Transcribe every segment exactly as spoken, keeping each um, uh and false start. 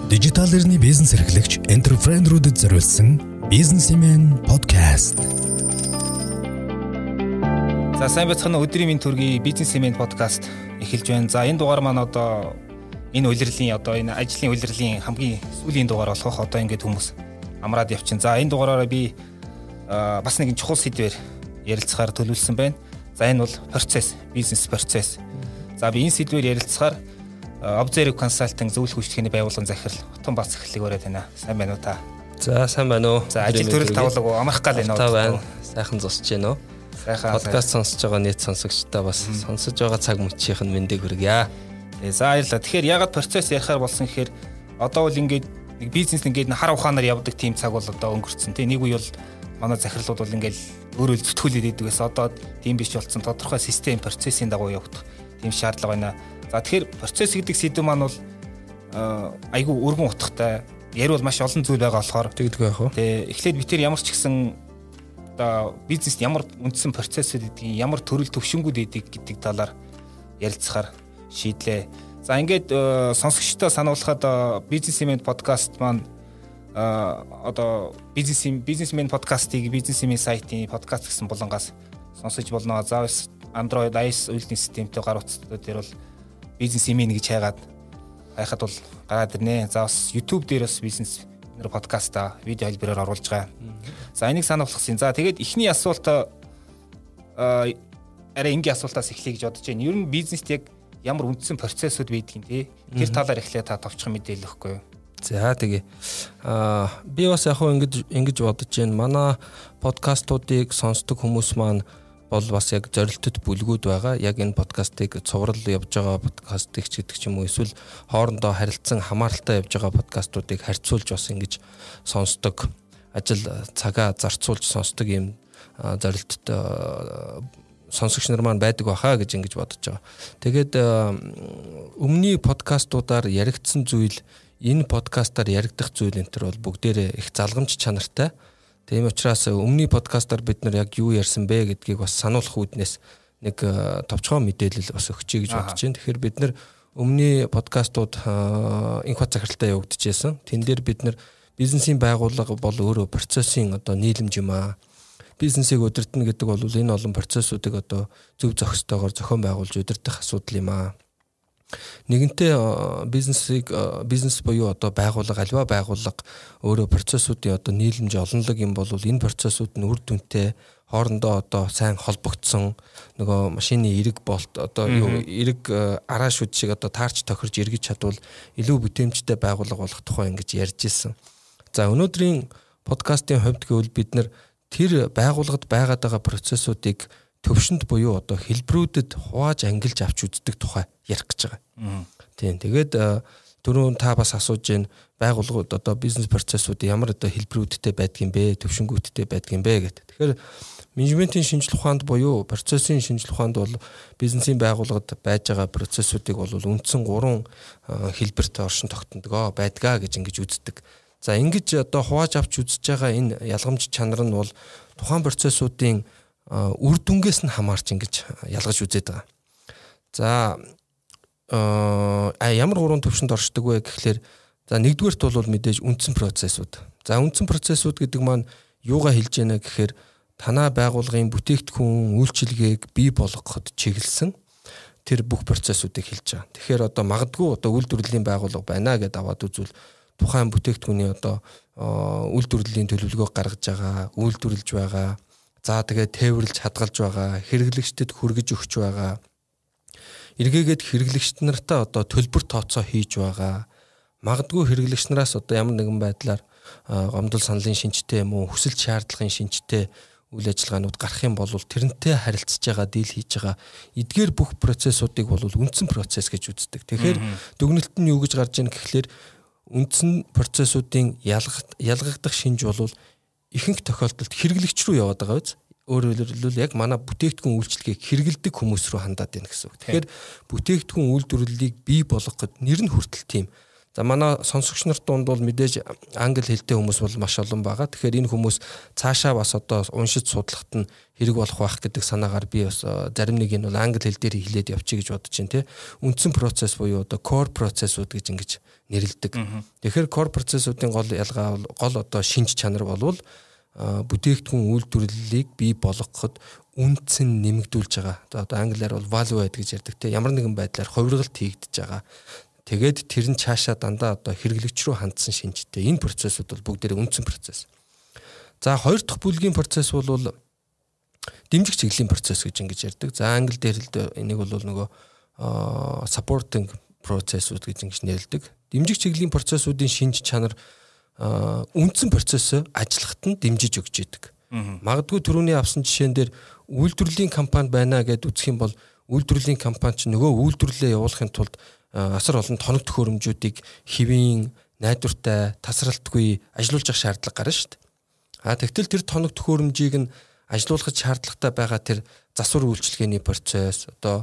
Дижитал эрхний бизнес эрхлэгч энтерпренерүүдэд зориулсан бизнесмен подкаст. За сайн бацхан өдрийн минь төргийн бизнесмен подкаст эхэлж байна. За энэ дугаар маань одоо энэ улирлын одоо энэ ажлын улирлын хамгийн сүүлийн дугаар болох одоо ингээд хүмүүс амраад явчихин. За энэ дугаараараа би бас нэгэн чухал сэдвээр ярилцахаар төлөвлөсөн байна. За энэ бол процесс, бизнес процесс. За би энэ сэдвээр ярилцахаар Observe Consulting зөвлөх үйлчлэгээний байгууллагын захирал Хотон Бац захирлыг өрөөд байна. Сайн байна уу та? За сайн байна уу? За ажил төрөл тавлаг уу? Амрах гал байна уу? Та байна. Сайхан зогсож байна уу? Сайхан. Подкаст сонсож байгаа нийт сонсогчдаа бас сонсож байгаа цаг мөчийнх нь мэндийг хүргье. Тэгээ за баярлалаа. Тэгэхээр ягаад процесс ярихаар болсон гэхээр одоо бол ингээд нэг бизнес ингээд хар ухаанаар явдаг тийм цаг бол одоо өнгөрцөн. Тэ нэг үе бол манай захирлууд бол ингээд өөрөө зүтгүүлээд идэг гэсэн. Одоо тийм биш болсон. Тодорхой систем процессын дагуу явагдах тийм шаардлага байна. За тэгэхээр процесс гэдэг сэдв маань бол айгүй өргөн утгатай. Ярил бол маш олон зүйл байгаа болохоор тэгдэг байх уу. Тэгээ эхлээд бид тэр ямар ч гэсэн одоо бизнест ямар үндсэн процессүүд гэдгийг, ямар төрөл төвшингүүд эдэг гэдэг талаар ярилцахаар шийдлээ. За ингээд сонсогчдоо сануулхад бизнесмен подкаст маань одоо бизнесмен бизнесмен подкастыг бизнесмен сайтын подкаст гэсэн булангаас сонсож болно. За Android iOS үйлдвэрлэлийн системтэй гар утсууд дээр бол бизнесмен гэж хайгаад хайхад бол гараад ирнэ. За бас YouTube дээр бас бизнес нэр подкаста видео хэлбэрээр оруулж байгаа. За энийг санаа болгосон. За тэгээд эхний асуулт арай энгийн асуултаас эхлэе гэж бодож байна. Ер нь бизнест яг ямар үндсэн процессүүд байдгийг тий. Тэр талаар эхлээ та товчхон мэдээлэл өгөхгүй юу? За тэгээ. Аа би бас яг хөө ингэж ингэж бодож байна. Манай подкастуудыг сонсдог хүмүүс маань бол бас яг зорилттой бүлгүүд байгаа. Яг энэ подкастыг цуврал явж байгаа подкастыг ч гэдэг ч юм уу эсвэл хоорондоо харилцан хамааралтай явж байгаа подкастуудыг харьцуулж бас ингэж сонсдог. Ажил цагаа зарцуулж сонсдог юм зорилттой сонсогч нар маань байдаг баха гэж ингэж бодож байгаа. Тэгээд өмнөний подкастуудаар яригдсан зүйл энэ подкастаар яригдах зүйл энэ төр бол бүгдээрээ их залгамж чанартай. Тийм учраас өмнөний подкастаар бид нар яг юу ярьсан бэ гэдгийг бас сануулах үүднээс нэг товчхон мэдээлэл бас өгчэй гэж бодож байна. Тэгэхээр бид нар өмнөний подкастууд инх бат захиралтай явагдчихсан. Тэн дээр бид нар бизнесийн байгууллага бол өөрөө процессын одоо нийлэмж юм аа. Бизнесийг удирдах гэдэг бол энэ олон процессуудыг одоо зөв зохистойгоор зохион байгуулж удирдах асуудал юм аа. Нэгэнтээ бизнесийг бизнес буюу одоо байгууллага альва байгууллага өөрөө процессуудын одоо нийлэмж олонлог юм бол энэ процессууд нь үр дүнтэй хоорондоо одоо сайн холбогдсон нөгөө машины эрэг болт одоо юу эрэг арааш үд шиг одоо таарч тохирж эргэж чадвал илүү бүтээмжтэй байгууллага болох тухай ингэж ярьж ирсэн. За өнөөдрийн подкастын хувьд гэвэл бид нар тэр байгууллагад байгаад байгаа процессуудыг төвшөнд буюу одоо хэлбэрүүдэд хувааж ангилж авч үздэг тухай ярих гэж байгаа. Тийм. Тэгээд түрүүн та бас асууж байна байгууллагууд одоо бизнес процессууд ямар одоо хэлбэрүүдтэй байдаг юм бэ, төвшингүүдтэй байдаг юм бэ гэдэг. Тэгэхээр менежментийн шинжилгээ ухаанд буюу процессын шинжилгээ ухаанд бол бизнесийн байгууллагад байж байгаа процессуудыг бол үндсэн гурван хэлбэрт оршин тогтнодгоо байдгаа гэж ингэж үздэг. За ингэж одоо хувааж авч үзэж байгаа энэ ялгамж чанар нь бол тухайн процессуудын үр дүнгээс нь хамаарч ингэж ялгаж үзээд байгаа. За а ямар гурван төвшөнд оршдог вэ гэхлээр за нэгдүгээрт бол мэдээж үндсэн процессууд. За үндсэн процессууд гэдэг маань юугаа хэлж яана гэхээр танаа байгууллагын бүтээгдэхүүн үйлчилгээг бий болгоход чиглэсэн тэр бүх процессуудыг хэлж байгаа. Тэгэхээр одоо магадгүй одоо үйлдвэрлэлийн байгууллага байна гэдээ аваад үзвэл тухайн бүтээгдэхүүний одоо үйлдвэрлэлийн төлөвлөгөө гаргаж байгаа, үйлдвэрлэж байгаа. За тэгээд тээвэрлж хадгалж байгаа, хэрэглэгчдэд хүргэж өгч байгаа. Эргээгээд хэрэглэгчд нартаа одоо төлбөр тооцоо хийж байгаа. Магадгүй хэрэглэгч нараас одоо ямар нэгэн байдлаар гомдол саналын шинжтэй юм уу, хүсэл шаардлагын шинжтэй үйл ажиллагаанууд гарах юм бол тэрнтэй харилцаж байгаа, дийл хийж байгаа эдгээр бүх процессуудыг бол үндсэн процесс гэж үздэг. Тэгэхээр дүгнэлт нь юу гэж гарч ийн гэхлээр үндсэн процессуудын ялгагдах шинж бол ихэнх тохиолдолд хэрэглэгч рүү яваад байгаа биз. Өөрөөр хэлбэл яг манай бүтээгдэхүүн үйлчлэгийг хэрэгэлдэг хүмүүс рүү хандаад байна гэсэн үг. Тэгэхээр бүтээгдэхүүн үйлдвэрлэлийг бий болгоход нэр нь хүртэл тийм За манай сонсогч нарт дунд бол мэдээж англи хэлтэй хүмүүс бол маш олон байгаа. Тэгэхээр энэ хүмүүс цаашаа бас одоо уншиж судлахад нь хэрэг болох байх гэдэг санаагаар би бас зарим нэг нь бол англи хэл дээр хэлээд явчих гэж бодож байна тий. Үндсэн процесс буюу одоо core процессууд гэж ингэж нэрлэдэг. Тэгэхээр core процессуудын гол ялгаа гол одоо шинж чанар болвол бүтээгдэхүүн үйлдвэрлэлийг бий болгоход үндсэн нэмэгдүүлж байгаа. Одоо англиар бол value add гэж ярьдаг те. Ямар нэгэн байдлаар хувиргалт хийгдэж байгаа. Тэгээд тэр нь цаашаа дандаа одоо хэрэглэгч рүү хандсан шинжтэй. Энэ процессууд бол бүгдээрээ үндсэн процесс. За хоёр дахь бүлгийн процесс бол дэмжих чиглэлийн процесс гэж ингэж ярьдаг. За англи дээр л энийг бол нөгөө supporting processүүд гэж ингэж нэрлэдэг. Дэмжих чиглэлийн процессуудын шинж чанар үндсэн процессыг ажиллахад нь дэмжиж өгч идэг. Магадгүй түрүүний авсан жишээн дээр үйлдвэрлэлийн компани байна гэдээ үзэх юм бол үйлдвэрлэлийн компани ч нөгөө үйлдвэрлэлээ явуулахын тулд асар олон тоног төхөөрөмжүүдийг хэвийн, найдвартай, тасралтгүй ажилуулж явах шаардлага гарна шүү дээ. А тэгтэл тэр тоног төхөөрөмжийг нь ажилуулахад шаардлагатай байгаа тэр засвар үйлчилгээний процесс одоо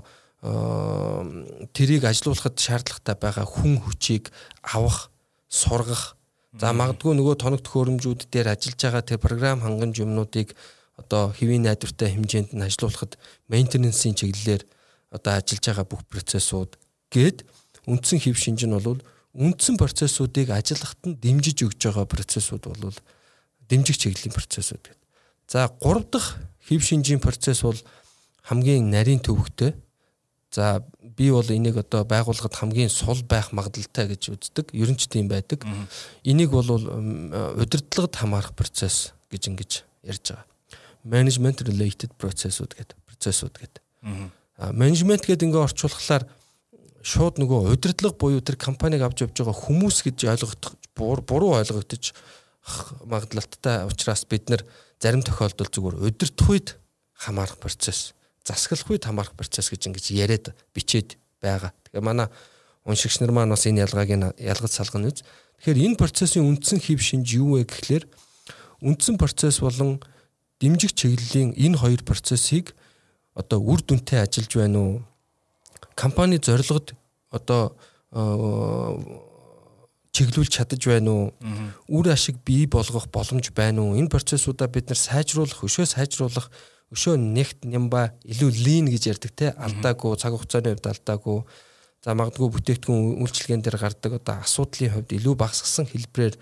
тэрийг ажилуулахад шаардлагатай байгаа хүн хүчийг авах, сургах. За магадгүй нөгөө тоног төхөөрөмжүүд дээр ажиллаж байгаа тэр програм хангамж юмнуудыг одоо хэвийн найдвартай хэмжээнд нь ажилуулахад мейнтенансийн чиглэлээр одоо ажиллаж байгаа бүх процессууд гээд үндсэн хэв шинж нь бол үндсэн процессуудыг ажиллахад нь дэмжиж өгж байгаа процессууд бол дэмжих чиглэлийн процессууд гэдэг. За гурав дахь хэв шинжийн процесс бол хамгийн нарийн төвөгтэй. За би бол энийг одоо байгууллагад хамгийн сул байх магадлалтай гэж үздэг. Ер нь ч тийм байдаг. Энийг бол удирдлагад хамаарах процесс гэж ингэж ярьж байгаа. Management related processүүд гэдэг процессууд гэдэг. А менежмент гэдэг ингээ орчуулахлаар шууд нөгөө удирдлага буюу тэр компаниг авч явж байгаа хүмүүс гэж ойлгох буруу ойлгогдож магадлалтай учраас бид нар зарим тохиолдолд зүгээр удирдах үед хамаарах процесс, засаглах үед хамаарах процесс гэж ингэж яриад бичээд байгаа. Тэгэхээр манай уншигч нар маань бас энэ ялгааг нь ялгаж салгана үз. Тэгэхээр энэ процессын үндсэн хэв шинж юу вэ гэхлээр үндсэн процесс болон дэмжих чиглэлийн энэ хоёр процессыг одоо үр дүнтэй ажиллаж байна уу? Компани зорилгод одоо чиглүүлж чадаж байна уу? Үр ашиг бий болгох боломж байна уу? Энэ процессуудаа бид нар сайжруулах, өшөө сайжруулах, өшөө нэгт нямба илүү лин гэж ярьдаг те алдаагүй, цаг хугацааны хувьд алдаагүй. За магадгүй бүтээгдэхүүн үйлчилгээнд дээр гардаг одоо асуудлын хувьд илүү багасгасан хэлбэрээр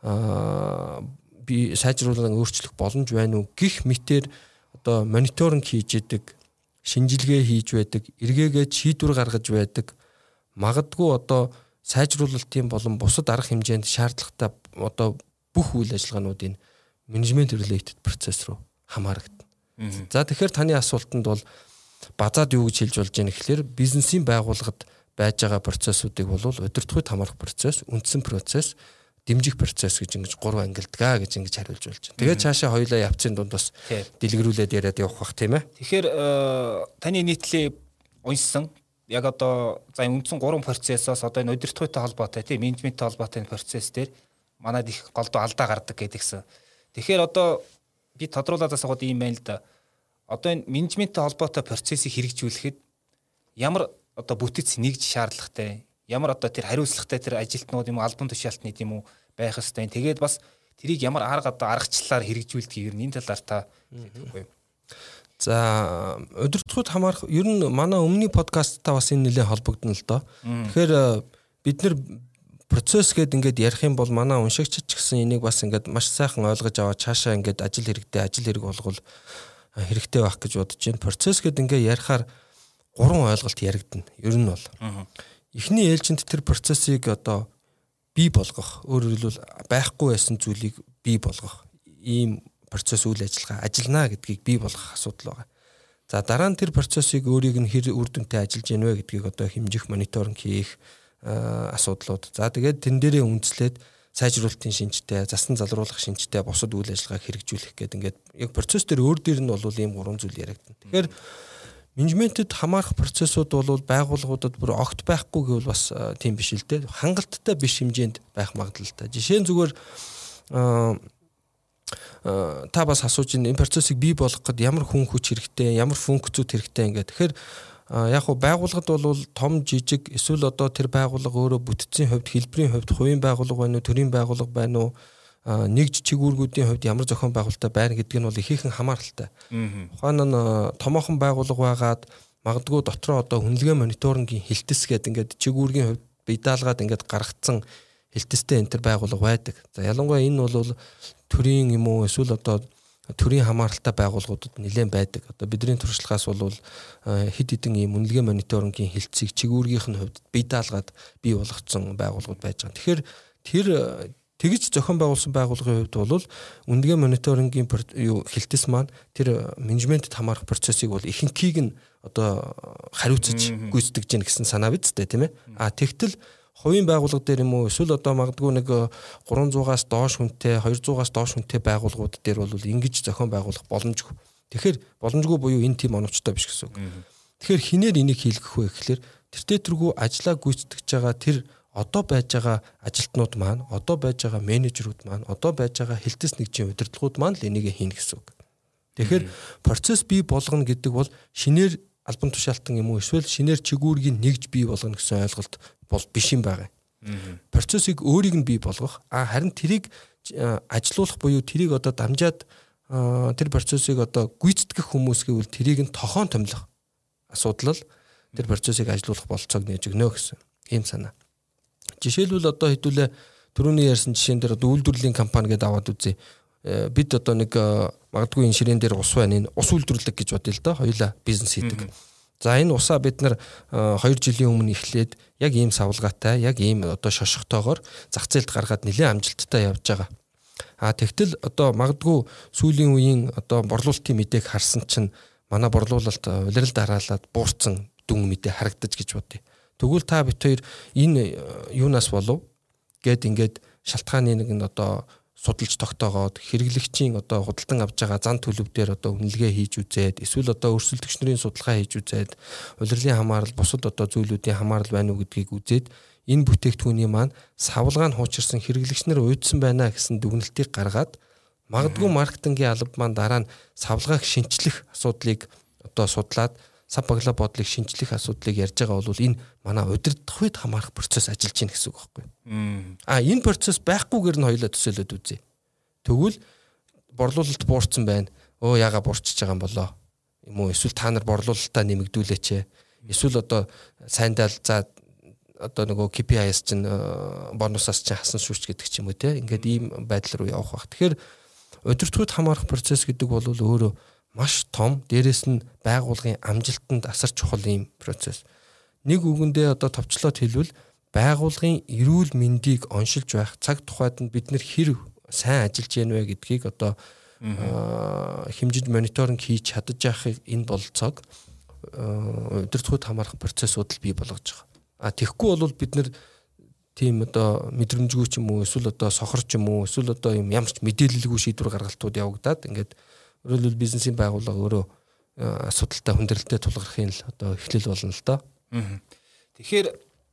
би сайжруулан өөрчлөх боломж байна уу гэх мэтээр одоо мониторинг хийж идэг, шинжилгээ хийж байдаг, эргээгээд шийдвэр гаргаж байдаг. Магадгүй одоо сайжруулалтын болон бусад арга хэмжээнд шаардлагатай одоо бүх үйл ажиллагаануудын менежмент related процесс руу хамаарагдана. За тэгэхээр таны асуултанд бол базаад юу гэж хэлж болж байна гэхээр бизнесийн байгууллагад байж байгаа процессуудыг бол удирдах үед хамаарах процесс, үндсэн процесс, дэмжих процесс гэж ингэж гурван ангилдгаа гэж ингэж хариулж болж байна. Тэгээд цаашаа хоёулаа явцын дунд бас дэлгэрүүлээд яриад явах бах тийм ээ. Тэгэхээр таны нийтлээ уншсан яг одоо за үндсэн гурван процессоос одоо энэ удирдах үйтэй холбоотой тийм менежменттэй холбоотой процесс дээр манад их голдуу алдаа гардаг гэдгийгсэн. Тэгэхээр одоо би тодруулаад асууад ийм байна л да. Одоо энэ менежменттэй холбоотой процессыг хэрэгжүүлэхэд ямар одоо бүтэц нэгж шаардлагатай, ямар одоо тэр хариуцлагатай тэр ажилтнууд юм уу, албан тушаалтны юм уу байх ёстой. Тэгээд бас тэрийг ямар арга одоо аргачлалаар хэрэгжүүлдэг юм энэ талаар та хэлэхгүй юу? За удирдлагууд хамаарах ер нь манай өмнөний подкасттай бас энэ нэлээд холбогдно л доо. Тэгэхээр бид нар процесс гэдэг ингээд ярих юм бол манай уншигчид ч гэсэн энийг бас ингээд маш сайхан ойлгож аваад цаашаа ингээд ажил хэрэгтэй ажил хэрэг болгол хэрэгтэй байх гэж бодож байна. Процесс гэдэг ингээд ярихаар гурван ойлголт яригдана. Ер нь бол эхний ээлжинд тэр процессыг одоо бий болгох, өөрөөр хэлбэл байхгүй байсан зүйлийг бий болгох ийм процесс үйл ажиллагаа ажиллана гэдгийг бий болгох асуудал байгаа. За дараа нь тэр процессыг өөрийг нь хэр үр дүнтэй ажиллаж яах вэ гэдгийг одоо хэмжих, мониторинг хийх асуудлууд. За тэгээд тэн дээрээ үндэслээд сайжруулалтын шинжтэй, засан залруулах шинжтэй бусад үйл ажиллагааг хэрэгжүүлэх гэдэг ингээд яг процесс дээр өөр дээр нь бол ийм гурван зүйл яригдана. Тэгэхээр менежментэд хамаарах процессууд бол байгууллагуудад бүр огт байхгүй гэвэл бас тийм биш л дээ. Хангалттай биш хэмжээнд байх магадлалтай. Жишээ нь зүгээр та бас асууж энэ процессыг бий болгоход ямар хүн хүч хэрэгтэй, ямар функцүүд хэрэгтэй ингээд. Тэгэхээр яг хуу байгууллагад бол том жижиг эсвэл одоо тэр байгууллага өөрөө бүтцийн хувьд хэлбэрийн хувьд хувийн байгууллага байна уу, төрийн байгууллага байна уу, нэгж чигүүргүүдийн хувьд ямар зохион байгуулалттай байна гэдэг нь бол ихээхэн хамааралтай. Ухаан нь томоохон байгууллага байгаад магадгүй дотроо одоо хүнлэгээ мониторингийн хэлтэс гэдэг ингээд чигүүргийн хувьд бие даалгаад ингээд гаргацсан хэлтэстэй энэ төр байгууллага байдаг. За ялангуяа энэ бол төрийн юм уу эсвэл одоо төрийн хамааралтай байгууллагуудад нэлээд байдаг. Одоо бидний туршлагаас бол хэд хэдэн ийм үнэлгээ мониторингийн хэлтсийг чигүүргийнх нь хувьд бие даалгаад бий болгоцсон байгууллагууд байж байгаа. Тэгэхээр тэр тэгж зохион байгуулсан байгууллагын хувьд бол үнэлгээ мониторингийн юу хэлтэс маань тэр менежментэд хамаарах процессыг бол ихэнхийг нь одоо хариуцаж гүйцэтгэж гин гэсэн санаа биз дээ, тийм ээ. А тэгтэл хувийн байгууллага дээр юм уу эсвэл одоо магадгүй нэг гурван зуугаас доош хүнтэй хоёр зуугаас доош хүнтэй байгууллагууд дээр бол ингэж зохион байгуулах боломжгүй. Тэгэхээр боломжгүй буюу энэ тийм оновчтой биш гэсэн үг. Тэгэхээр хинээр энийг хийлгэх вэ гэхэлэр тэр тэтэргүй ажиллаа гүйцэтгэж байгаа тэр одоо байж байгаа ажилтнууд маань, одоо байж байгаа менежерүүд маань, одоо байж байгаа хэлтэс нэгжийн удирдлагууд маань л энийг хийнэ гэсэн үг. Тэгэхээр процесс бий болгоно гэдэг бол шинээр албан тушаалтан юм уу эсвэл шинээр чигүүргийг нэгж бий болгоно гэсэн ойлголт бол биш юм байгаа. Процессыг өөрийг нь бий болгох, а харин тэрийг ажилуулах буюу тэрийг одоо дамжаад тэр процессыг одоо гүйцэтгэх хүмүүс гэвэл тэрийг нь тохон томилох асуудал л тэр процессыг ажилуулах болцоог нээж өгнө гэсэн ийм санаа. Жишээлбэл одоо хэдүүлээ түрүүний ярьсан жишээн дээр одоо үйлдвэрлэлийн компани гэдээ аваад үзье. Бид одоо нэг магадгүй энэ ширээн дээр ус байна, энэ ус үйлдвэрлэг гэж бодъё л доо, хоёулаа бизнес хийдэг. За энэ усаа бид нар хоёр жилийн өмнө эхлээд яг ийм савлгаатай, яг ийм одоо шошготойгоор зах зээлд гаргаад нэлээд амжилттай явж байгаа. А тэгтэл одоо магадгүй сүүлийн үеийн одоо борлуулалтын мэдээг харсан чинь манай борлуулалт улиралд хараалаад буурсан дүн мэдээ харагдаж гэж бодъё. Тэгвэл та бит хоёр энэ юунаас болов гэд ингээд шалтгааны нэг нь одоо судалж тогтоогоод хэрэглэгчийн одоо худалдан авж байгаа зан төлөв дээр одоо үнэлгээ хийж үзээд эсвэл одоо өрсөлдөгч нарын судалгаа хийж үзээд улирлын хамаарал бусад одоо зүйлүүдийн хамаарал байна уу гэдгийг үзээд энэ бүтээгдэхүүний маань савлгаа нь хуучирсан хэрэглэгч нар уйдсан байна гэсэн дүгнэлтийг гаргаад магадгүй маркетингийн алба маань дараа нь савлгааг шинчлэх асуудлыг одоо судлаад сав баглаа бодлыг шинчлэх асуудлыг ярьж байгаа бол энэ манай удирдах үед хамаарах процесс ажиллаж байна гэсэн үг байхгүй. А энэ процесс байхгүйгээр нь хоёулаа төсөөлөд үзье. Тэгвэл борлуулалт буурсан байна. Өө яага буурчиж байгаа юм болоо. Юм уу эсвэл та нар борлуулалтаа нэмэгдүүлээч. Эсвэл одоо сайндаа за одоо нөгөө кей пи ай-с чинь бонусаас чинь хасан шүүч гэдэг ч юм уу те. Ингээд ийм байдал руу явах байх. Тэгэхээр удирдах үед хамаарах процесс гэдэг бол өөрөө маш том, дээрэс нь байгууллагын амжилтанд асар чухал юм процесс. Нэг үгэндээ одоо товчлоод хэлвэл байгууллагын эрүүл мэндийг оншилж байх цаг тухайд нь бид нэр хэр сайн ажиллаж яана вэ гэдгийг одоо хэмжиж мониторинг хийж чадаж байхыг энэ болцоог удирдахуйд хамаарах процессууд л бий болгож байгаа. А тэгэхгүй бол бид нэр тийм одоо мэдрэмжгүй ч юм уу эсвэл одоо сохор ч юм уу эсвэл одоо юм ямар ч мэдээлэлгүй шийдвэр гаргалтууд явагдаад ингээд өөрөлдөл бизнесийн байгууллага өөрөө асуудалтай хүндрэлтэй тулгархын л одоо эхлэл болно л доо. Тэгэхээр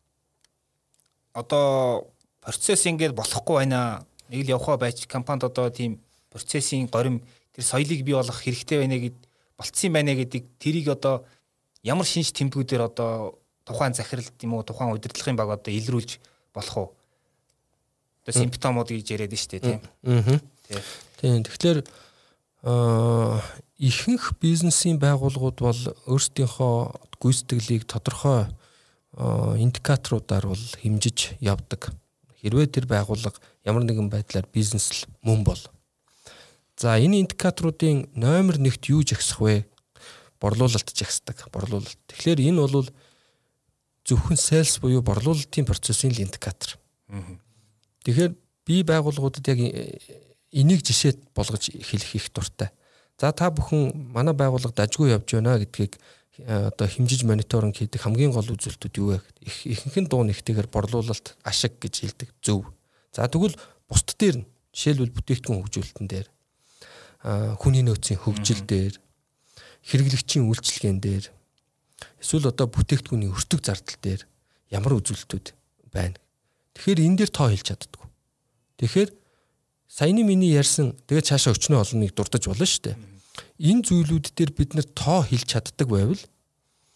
одоо процесс ингээд болохгүй байна. Нэг л явхаа байж компанид одоо тийм процессын горим тэр соёлыг бий болгох хэрэгтэй байна гэд болцсон байна гэдэг тэрийг одоо ямар шинж тэмдгүүдээр одоо тухайн захиралд юм уу тухайн удирдлагын баг одоо илрүүлж болох уу? Одоо симптомууд гэж яриад нь шүү дээ тийм. Тийм. Тэгэхээр Аа ихэнх бизнесийн байгууллагууд бол өөрсдийнхөө гүйцэтгэлийг тодорхой индикаторуудаар бол хэмжиж явдаг. Хэрвээ тэр байгууллага ямар нэгэн байдлаар бизнес л мөн бол. За энэ индикаторуудын номер нэгт юу жагсах вэ? Борлуулалт жагсдаг. Борлуулалт. Тэгэхээр энэ бол зөвхөн sales буюу борлуулалтын процессын л индикатор. Тэгэхээр бие байгууллагуудад яг энийг жишээ болгож хэлэх их дуртай. За та бүхэн манай байгууллагад ажгүй явж байна гэдгийг одоо хэмжиж мониторинг хийдэг хамгийн гол үзүүлэлтүүд юу вэ? Ихэнх нь дуу нэгтэйгээр борлуулалт ашиг гэж хэлдэг. Зөв. За тэгвэл бусд дээр нь жишээлбэл бүтээгдэхүүн хөгжүүлэлтэн дээр, хүний нөөцийн хөгжил дээр, хэрэглэгчийн үйлчилгээнд дээр, эсвэл одоо бүтээгдэхүүний өртөг зардал дээр ямар үзүүлэлтүүд байна. Тэгэхээр энэ дээр тоо хэлж чаддаггүй. Тэгэхээр саяны миний ярьсан тэгээд цаашаа өчнөө олныг дурдаж болно шүү дээ. Энэ зүйлүүд дээр бид нэр тоо хэлж чаддаг байвал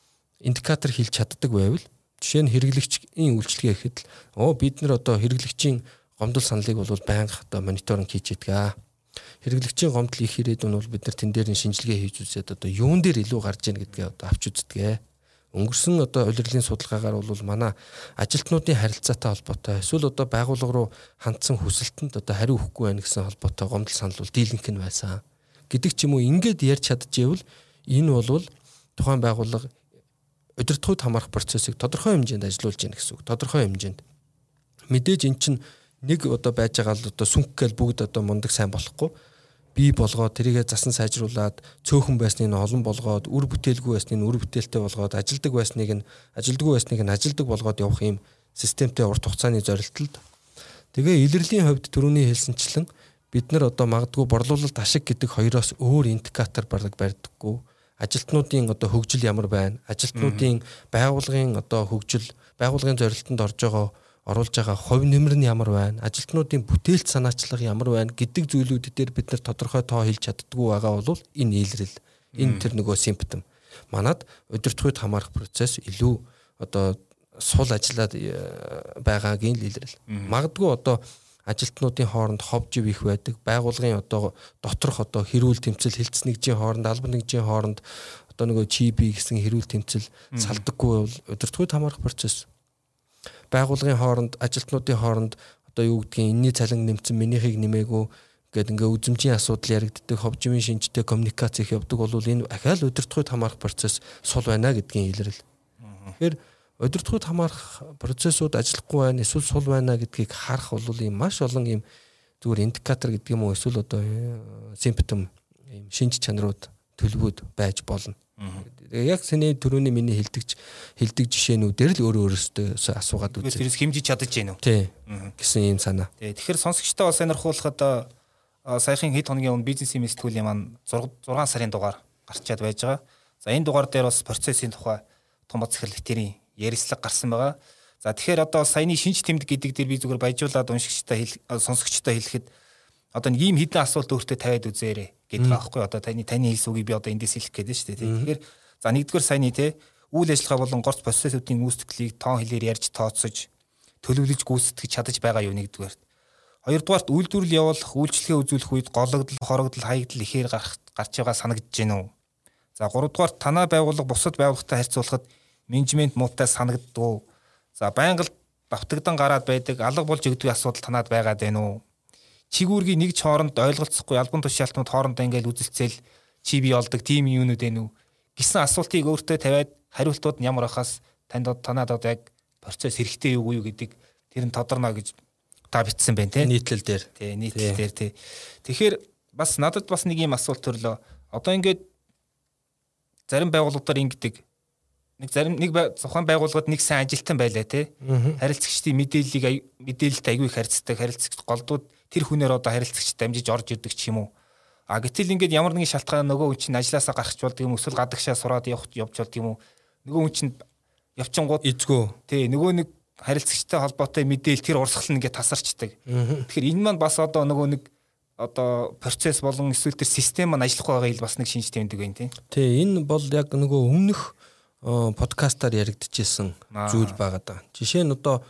индикатор хэлж чаддаг байвал жишээ нь хэрэглэгчийн үйлчлэгээ гэхэд л оо бид нар одоо хэрэглэгчийн гомдол саналыг бол байнга одоо мониторинг хийж ядгаа. Хэрэглэгчийн гомдол их ирээдүйн бол бид нар тэн дээр нь шинжилгээ хийж үзээд одоо юун дээр илүү гарч ийн гэдгээ одоо авч үздэг. Өнгөрсөн одоо улирлын судалгаагаар бол манай ажилтнуудын харилцаатай холбоотой эсвэл одоо байгууллага руу хандсан хүсэлтэнд одоо хариу өгөхгүй байна гэсэн холбоотой гомдол санал бол дийлэнх нь байсан гэдэг ч юм уу ингээд ярьж чадчихвэл энэ бол тухайн байгууллага удирдлагууд хамаарах процессыг тодорхой хэмжээнд ажилуулж яах гэсэн үг. Тодорхой хэмжээнд. Мэдээж эн чинь нэг одоо байж байгаа л одоо сүнх гэл бүгд одоо мундаг сайн болохгүй. Бий болгоод тэрийгэ засан сайжруулад цөөхөн байсныг нь олон болгоод үр бүтээлгүй байсныг нь үр бүтээлтэй болгоод ажилдаг байсныг нь ажилдаггүй байсныг нь ажилдаг болгоод явах юм системтэй урт хугацааны зорилтолд. Тэгээ илэрлийн хувьд түрүүний хэлсэнчлэн бид нар одоо магадгүй борлуулалт ашиг гэдэг хоёроос өөр индикатор бараг барьдаггүй. Ажилтнуудын одоо хөгжил ямар байна? Ажилтнуудын байгууллагын одоо хөгжил, байгууллагын зорилтонд орж байгаа оруулж байгаа хувь нэмэр нь ямар байна? Ажилтнуудын бүтээлч санаачлага ямар байна гэдэг зүйлүүд дээр бид нар тодорхой тоо хэлж чаддаггүй байгаа бол энэ илрэл, энэ тэр нөгөө симптом. Манад удирдлагууд хамаарах процесс илүү одоо сул ажиллаад байгаагийн илрэл. Магадгүй одоо ажилтнуудын хооронд ховжив их байдаг, байгууллагын одоо доторх одоо хэрүүл тэмцэл хилцс нэгжийн хооронд, албан нэгжийн хооронд одоо нөгөө чи би гэсэн хэрүүл тэмцэл салдаггүй бол удирдлагууд хамаарах процесс. Байгууллагын хооронд, ажилтнуудын хооронд одоо юу гэдгийг энэний цалин нэмсэн, минийхийг нэмээгүй гэдэг ингээ үзмжийн асуудал яригддаг, ховживын шинжтэй коммуникац их явдаг бол энэ ахаал удирдлагууд хамаарах процесс сул байна гэдгийн илрэл. Тэгэхээр удирдлагууд хамаарах процессууд ажиллахгүй байна, эсвэл сул байна гэдгийг харах бол ийм маш олон ийм зүгээр индикатор гэдэг юм уу, эсвэл одоо симптом, ийм шинж чанарууд, төлөвүүд байж болно. Яг сэний түрүүний миний хэлдэгч хэлдэг жишээнүүдээр л өөрөө өөрөөсөө асуугаад үзээ. Тэрс хэмжиж чадаж гэнэ үү? Тий. Гэсэн юм санаа. Тий. Тэгэхээр сонсогчтой бас сонирхуулахад саяхан хэд хоногийн өмнө бизнес имэс төвлийн маань зургаан сарын дугаар гарчаад байж байгаа. За энэ дугаар дээр бас процессын тухай том бод захирлэгтэрийн ярилцлага гарсан байгаа. За тэгэхээр одоо саяны шинж тэмдэг гэдэг дээр би зүгээр баяжуулаад уншигчтай сонсогчтой хэлэхэд одоо нэг ийм хідэн асуулт өөртөө тавиад үзээрэй гэдэг байгаа байхгүй. Одоо таны таны хэлс үгийг би одоо эндээс хэлэх гээд шүү дээ. Тэгэхээр за нэгдүгээр саяны те үйл ажиллагаа болон горц процессуудын гүйцэтгэлийг тоон хэлээр ярьж тооцож төлөвлөж гүйцэтгэж чадаж байгаа юу нэгдүгээр. Хоёрдугаарт үйлдвэрлэл явуулах, үйлчлэгээ үзүүлэх үед гологдол, хорогдол, хаягдал ихээр гарах гарч байгаа санагдаж байна уу? За гуравдугаарт танай байгууллага бусад байгууллагатай харьцуулахад менежмент муутай санагддаг. За байнга давтагдан гараад байдаг, алга болж өгдөг асуудал танад байгаад байна уу? Чигүүргийн нэг ч хооронд ойлголцохгүй албан тушаалтнууд хоорондоо ингээл үзэлцэл чи бий болдог тийм юунууд байна уу гэсэн асуултыг өөртөө тавиад хариултууд нь ямар ахаас танд танад одоо яг процесс хэрэгтэй юу юу гэдэг тэр нь тодорно гэж та бичсэн байна те нийтлэл дээр тий нийтлэл дээр тий. Тэгэхээр бас надад бас нэг юм асуулт төрлөө. Одоо ингээд зарим байгууллагуудаар ингэдэг нэг зарим нэг зохион байгууллагад нэг сайн ажилтан байлаа те харилцагчдын мэдээллийг мэдээлэлт аягүй их харьцдаг харилцагч голдууд тэр хүнээр одоо харилцагч дамжиж орж ирдэг ч юм уу. А гэтэл ингээд ямар нэгэн шалтгаан нөгөө хүн чинь ажилласаа гарах болдог юм эсвэл гадагшаа сураад явах явж болдог юм уу. Нөгөө хүн чинь явчингууд эзгөө. Тий нөгөө нэг харилцагчтай холбоотой мэдээлэл тэр урсгал нь ингээд тасарчдаг. Тэгэхээр энэ маань бас одоо нөгөө нэг одоо процесс болон эсвэл тэр систем маань ажиллахгүй байгаа ил бас нэг шинж тэмдэг байна тий. Тий энэ бол яг нөгөө өмнөх подкастаар яригдчихсэн зүйл байгаа даа. Жишээ нь одоо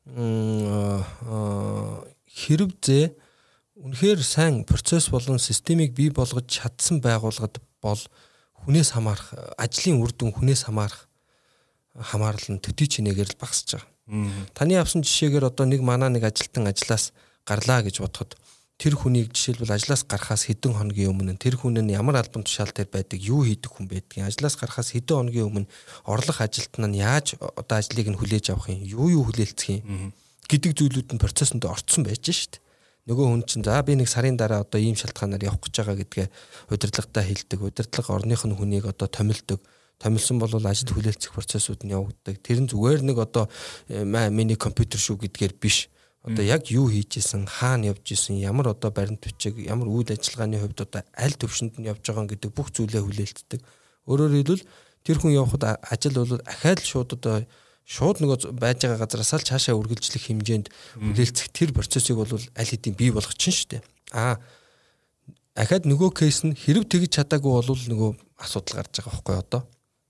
хэрвээ үнэхээр сайн процесс болон системийг бий болгож чадсан байгууллагад бол хүнээс хамаарах, ажлын үр дүн хүнээс хамаарах хамаарлал нь төдий чинээгээр л багасж байгаа. Таны авсан жишээгээр одоо нэг манаа нэг ажилтан ажлаас гарлаа гэж бодоход тэр хүнийг жишээлбэл ажлаас гарахаас хэдэн хоногийн өмнө тэр хүн нь ямар албан тушаал дээр байдаг, юу хийдэг хүн байдгийг, ажлаас гарахаас хэдэн хоногийн өмнө орлох ажилтан нь яаж одоо ажлыг нь хүлээж авах юм, юу юу хүлээлцэх юм гэдэг зүйлүүд нь процессонд орцсон байж шít. Нөгөө хүн чинь за би нэг сарын дараа одоо ийм шалтгаанаар явах гэж байгаа гэдгээ удирдлагатай хэлдэг. Удирдлага орных нь хүнийг одоо томилдог. Томилсон бол ажил хүлээлцэх процессууд нь явагддаг. Тэр нь зүгээр нэг одоо миний компьютер шүү гэдгээр биш. Одоо яг юу хийж исэн, хаана явж исэн, ямар одоо баримт бичиг, ямар үйл ажиллагааны хувьд одоо аль төвшөнд нь явж байгаа гэдэг бүх зүйлээ хүлээлцдэг. Өөрөөр хэлбэл тэр хүн явхад ажил бол ахаал шууд одоо шууд нөгөө байж байгаа газараас л цаашаа үргэлжлэх хэмжээнд хүлээлцэх тэр процессыг бол аль хэдийн бий болгох чинь шүү дээ. Аа ахаад нөгөө кейс нь хэрэг тэгж чадаагүй бол нөгөө асуудал гарч байгаа байхгүй одоо.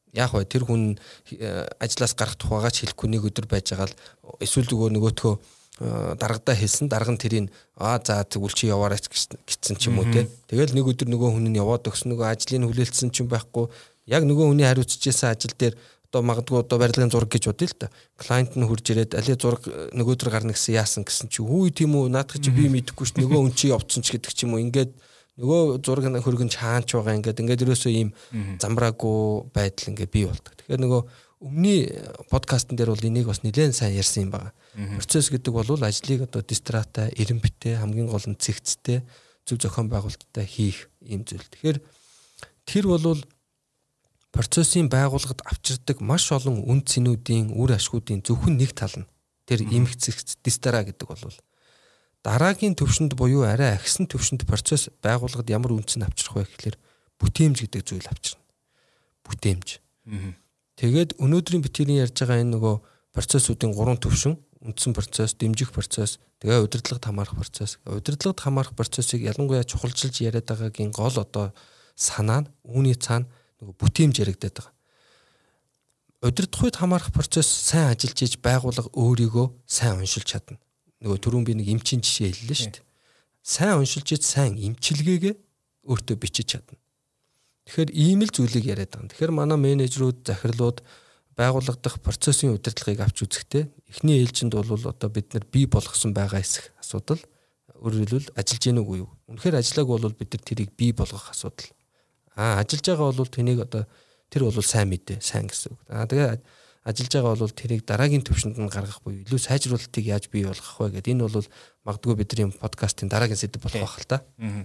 яг бай тэр хүн ажлаас гарах тухайгаа ч хэлэхгүй нэг өдөр байж байгаа л эсвэл зүгээр нөгөөтгөө дарагдаа хэлсэн дарга нь тэрийг аа за тэгвэл чи яваарай гэсэн ч юм уу те. Тэгэл нэг өдөр нөгөө хүн нь яваад өгсөн нөгөө ажлыг хүлээлтсэн ч юм байхгүй яг нөгөө хүний хариуцчихсан ажил дээр одоо магадгүй одоо барилгын зураг гэж бодъё л та. Клиент нь хурж ирээд алей зураг нөгөөдөр гарна гэсэн яасан гэсэн чи хүү тийм үү наадах чи би мэдэхгүй ш нөгөө хүн чи явцсан ч гэдэг ч юм уу ингээд нөгөө зураг хөргөн чаанч байгаа ингээд ингээд ерөөсөө ийм замбраагүй байдал ингээд бий болдог. Тэгэхээр нөгөө өмнөний подкастн дээр бол энийг бас нэлээд сайн ярьсан юм байна. Процесс гэдэг бол ажлыг одоо дистратай, эренбитэй, хамгийн гол нь цэгцтэй, зөв зохион байгуулалттай хийх юм зүйл. Тэгэхээр тэр бол процессын байгууллагад авчирдаг маш олон үн цэнүүдийн үр ашгуудын зөвхөн нэг тал нь тэр эмх цэгц дистра гэдэг бол дараагийн төвшөнд буюу арай агсан төвшөнд процесс байгууллагад ямар үнцэн авчрах вэ гэхэлэр бүтээмж гэдэг зүйл авчирна. Бүтээмж. Тэгээд өнөөдрийн битгэрийн ярьж байгаа энэ нөгөө процессуудын гурван төвшин үндсэн процесс, дэмжих процесс, тэгээ удирдлагад хамаарах процесс. Удирдлагад хамаарах процессыг ялангуяа чухалчилж яриад байгаагийн гол одоо санаа нь үүний цаана нөгөө бүтээмж яригдаад байгаа. Удирдах үед хамаарах процесс сайн ажиллаж иж байгууллага өөрийгөө сайн уншилж чадна. Нөгөө түрүүн би нэг эмчийн жишээ хэллээ шүү дээ. Сайн уншилж иж сайн эмчилгээгээ өөртөө бичиж чадна. Тэгэхээр ийм л зүйлийг яриад байгаа. Тэгэхээр манай менежерүүд, захирлууд байгууллага дахь процессын удирдлагыг авч үзэхдээ эхний ээлжинд бол одоо бид нар бий болгосон байгаа эсэх асуудал. Өөрөөр хэлбэл ажиллаж гэнэ үгүй юу? Үнэхээр ажиллааг бол бид нар тэрийг бий болгох асуудал. Аа ажиллаж байгаа бол тэнийг одоо тэр бол сайн мэдээ, сайн гэсэн үг. Аа тэгээ ажиллаж байгаа бол тэрийг дараагийн төвшөнд нь гаргах буюу илүү сайжруулалтыг яаж бий болгох вэ гэдэг энэ бол магадгүй бидний подкастын дараагийн сэдэв болох байх л та.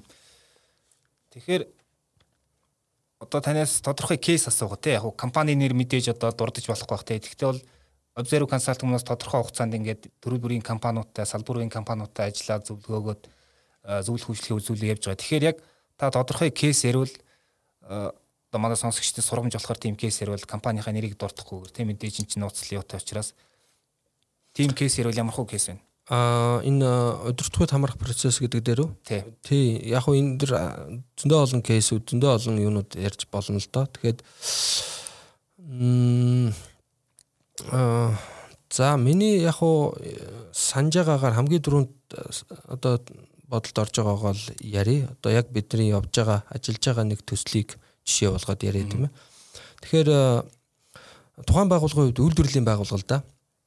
Тэгэхээр одоо танаас тодорхой кейс асуугаа те яг компани нэр мэдээж одоо дурдж болохгүй бах те. Гэхдээ бол Observe Consulting-аас тодорхой хугацаанд ингээд төрөл бүрийн компаниудтай, салбар бүрийн компаниудтай ажиллаад зөвлөгөөгөөд зөвлөх үйлчлэгийн үзүүлэлт явьж байгаа. Тэгэхээр яг та тодорхой кейс ярил одоо манай сонсогчдод сургамж болохоор тийм кейс ярил компанийнхаа нэрийг дурдахгүйгээр тийм мэдээж энэ чинь нууцлал юутай учраас тийм кейс ярил ямар хөө кейс вэ? Аа энэ удирдлагын хамрах процесс гэдэг дээр үү? Тий. Яг хөө энэ дэр зөндөө олон кейсүүд, зөндөө олон юунууд ярьж болно л доо. Тэгэхээр аа за миний яг хөө санаж байгаагаар хамгийн түрүүнд одоо бодолд орж байгаагаа л ярий. Одоо яг бидний явж байгаа, ажиллаж байгаа нэг төслийг жишээ болгоод яриа тийм ээ. Тэгэхээр тухайн байгууллагын хувьд үйлдвэрлэлийн байгууллага л да.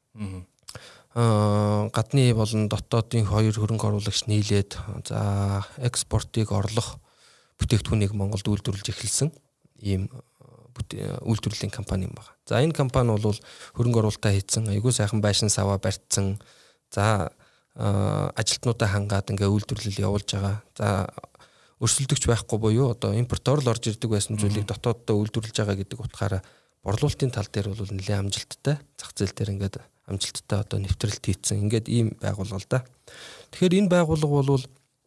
Аа гадны болон дотоодын хоёр хөрөнгө оруулагч нийлээд за экспортыг орлох бүтээгдэхүүнийг Монголд үйлдвэрлэж эхэлсэн ийм үйлдвэрлэлийн компани юм байна. За энэ компани бол хөрөнгө оруулалтаа хийсэн, айгүй сайхан байшин саваа барьцсан. За ажилтнуудаа хангаад ингээ үйлдвэрлэл явуулж байгаа. За өрсөлдөгч байхгүй буюу одоо импортоор л орж ирдэг байсан зүйлийг дотооддоо үйлдвэрлэж байгаа гэдэг утгаараа борлуулалтын тал дээр бол нэлээд амжилттай, зах зээл дээр ингээд амжилттай одоо нэвтрэлт хийцэн. Ингээд ийм байгууллага л да. Тэгэхээр энэ байгууллага бол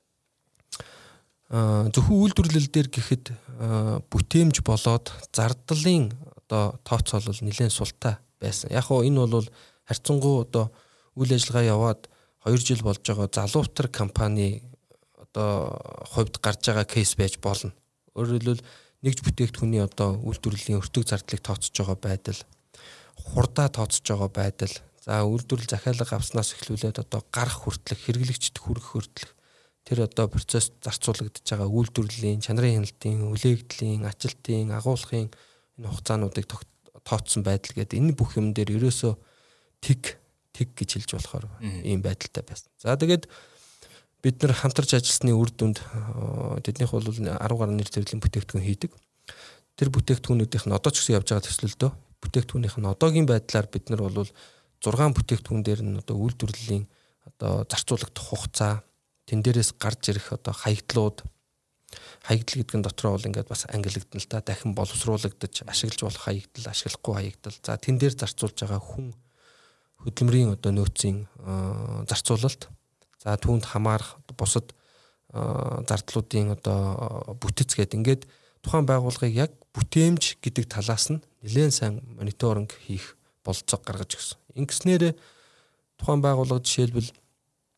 зөвхөн үйлдвэрлэл дээр гэхэд бүтээмж болоод зардлын одоо тооцоол бол нэлээд султай байсан. Яг хоо энэ бол харьцангуй одоо үйл ажиллагаа яваад хоёр жил болж байгаа залуутар компани одоо хувьд гарч байгаа кейс байж болно. Өөрөөр хэлбэл нэгж бүтээгдэхүүний одоо үйлдвэрлэлийн өртөг зардлыг тооцож байгаа байдал, хурдаа тооцож байгаа байдал, за үйлдвэрлэл захиалга авснаас эхлүүлээд одоо гарах хүртэлх, хэрэглэгчд хүрэх хүртэлх тэр одоо процесс зарцуулагдж байгаа үйлдвэрлэлийн, чанарын хяналтын, үлээгдлийн, ажилтын, агуулгын энэ хугацаануудыг тооцсон байдал гэдэг энэ бүх юм дээр ерөөсөө тэг тэг гэж хэлж болохоор ийм байдалтай байсан. За тэгээд бид нар хамтарч ажилласны үр дүнд тэднийх бол арван гаруй нэр төрлийн бүтээгдэхүүн хийдэг. Тэр бүтээгдэхүүнүүдийнх нь одоо ч гэсэн явж байгаа төслөлдөө бүтээгдэхүүнийх нь одоогийн байдлаар бид нар бол зургаан бүтээгдэхүүн дээр нь одоо үйлдвэрлэлийн одоо зарцуулагдах хугацаа, тэн дээрээс гарч ирэх одоо хаягдлууд, хаягдл гэдэг нь дотроо бол ингээд бас ангилагдана л та дахин боловсруулагдаж ашиглаж болох хаягдл, ашиглахгүй хаягдл. За тэн дээр зарцуулж байгаа хүн хөдөлмөрийн одоо нөөцийн зарцуулалт, за түүнд хамаарах бусад зардлуудын одоо бүтэц гэдэг ингээд тухайн байгууллагыг яг бүтээмж гэдэг талаас нь нэлээд сайн мониторинг хийх болцоог гаргаж өгсөн. Ингэснээр тухайн байгууллага жишээлбэл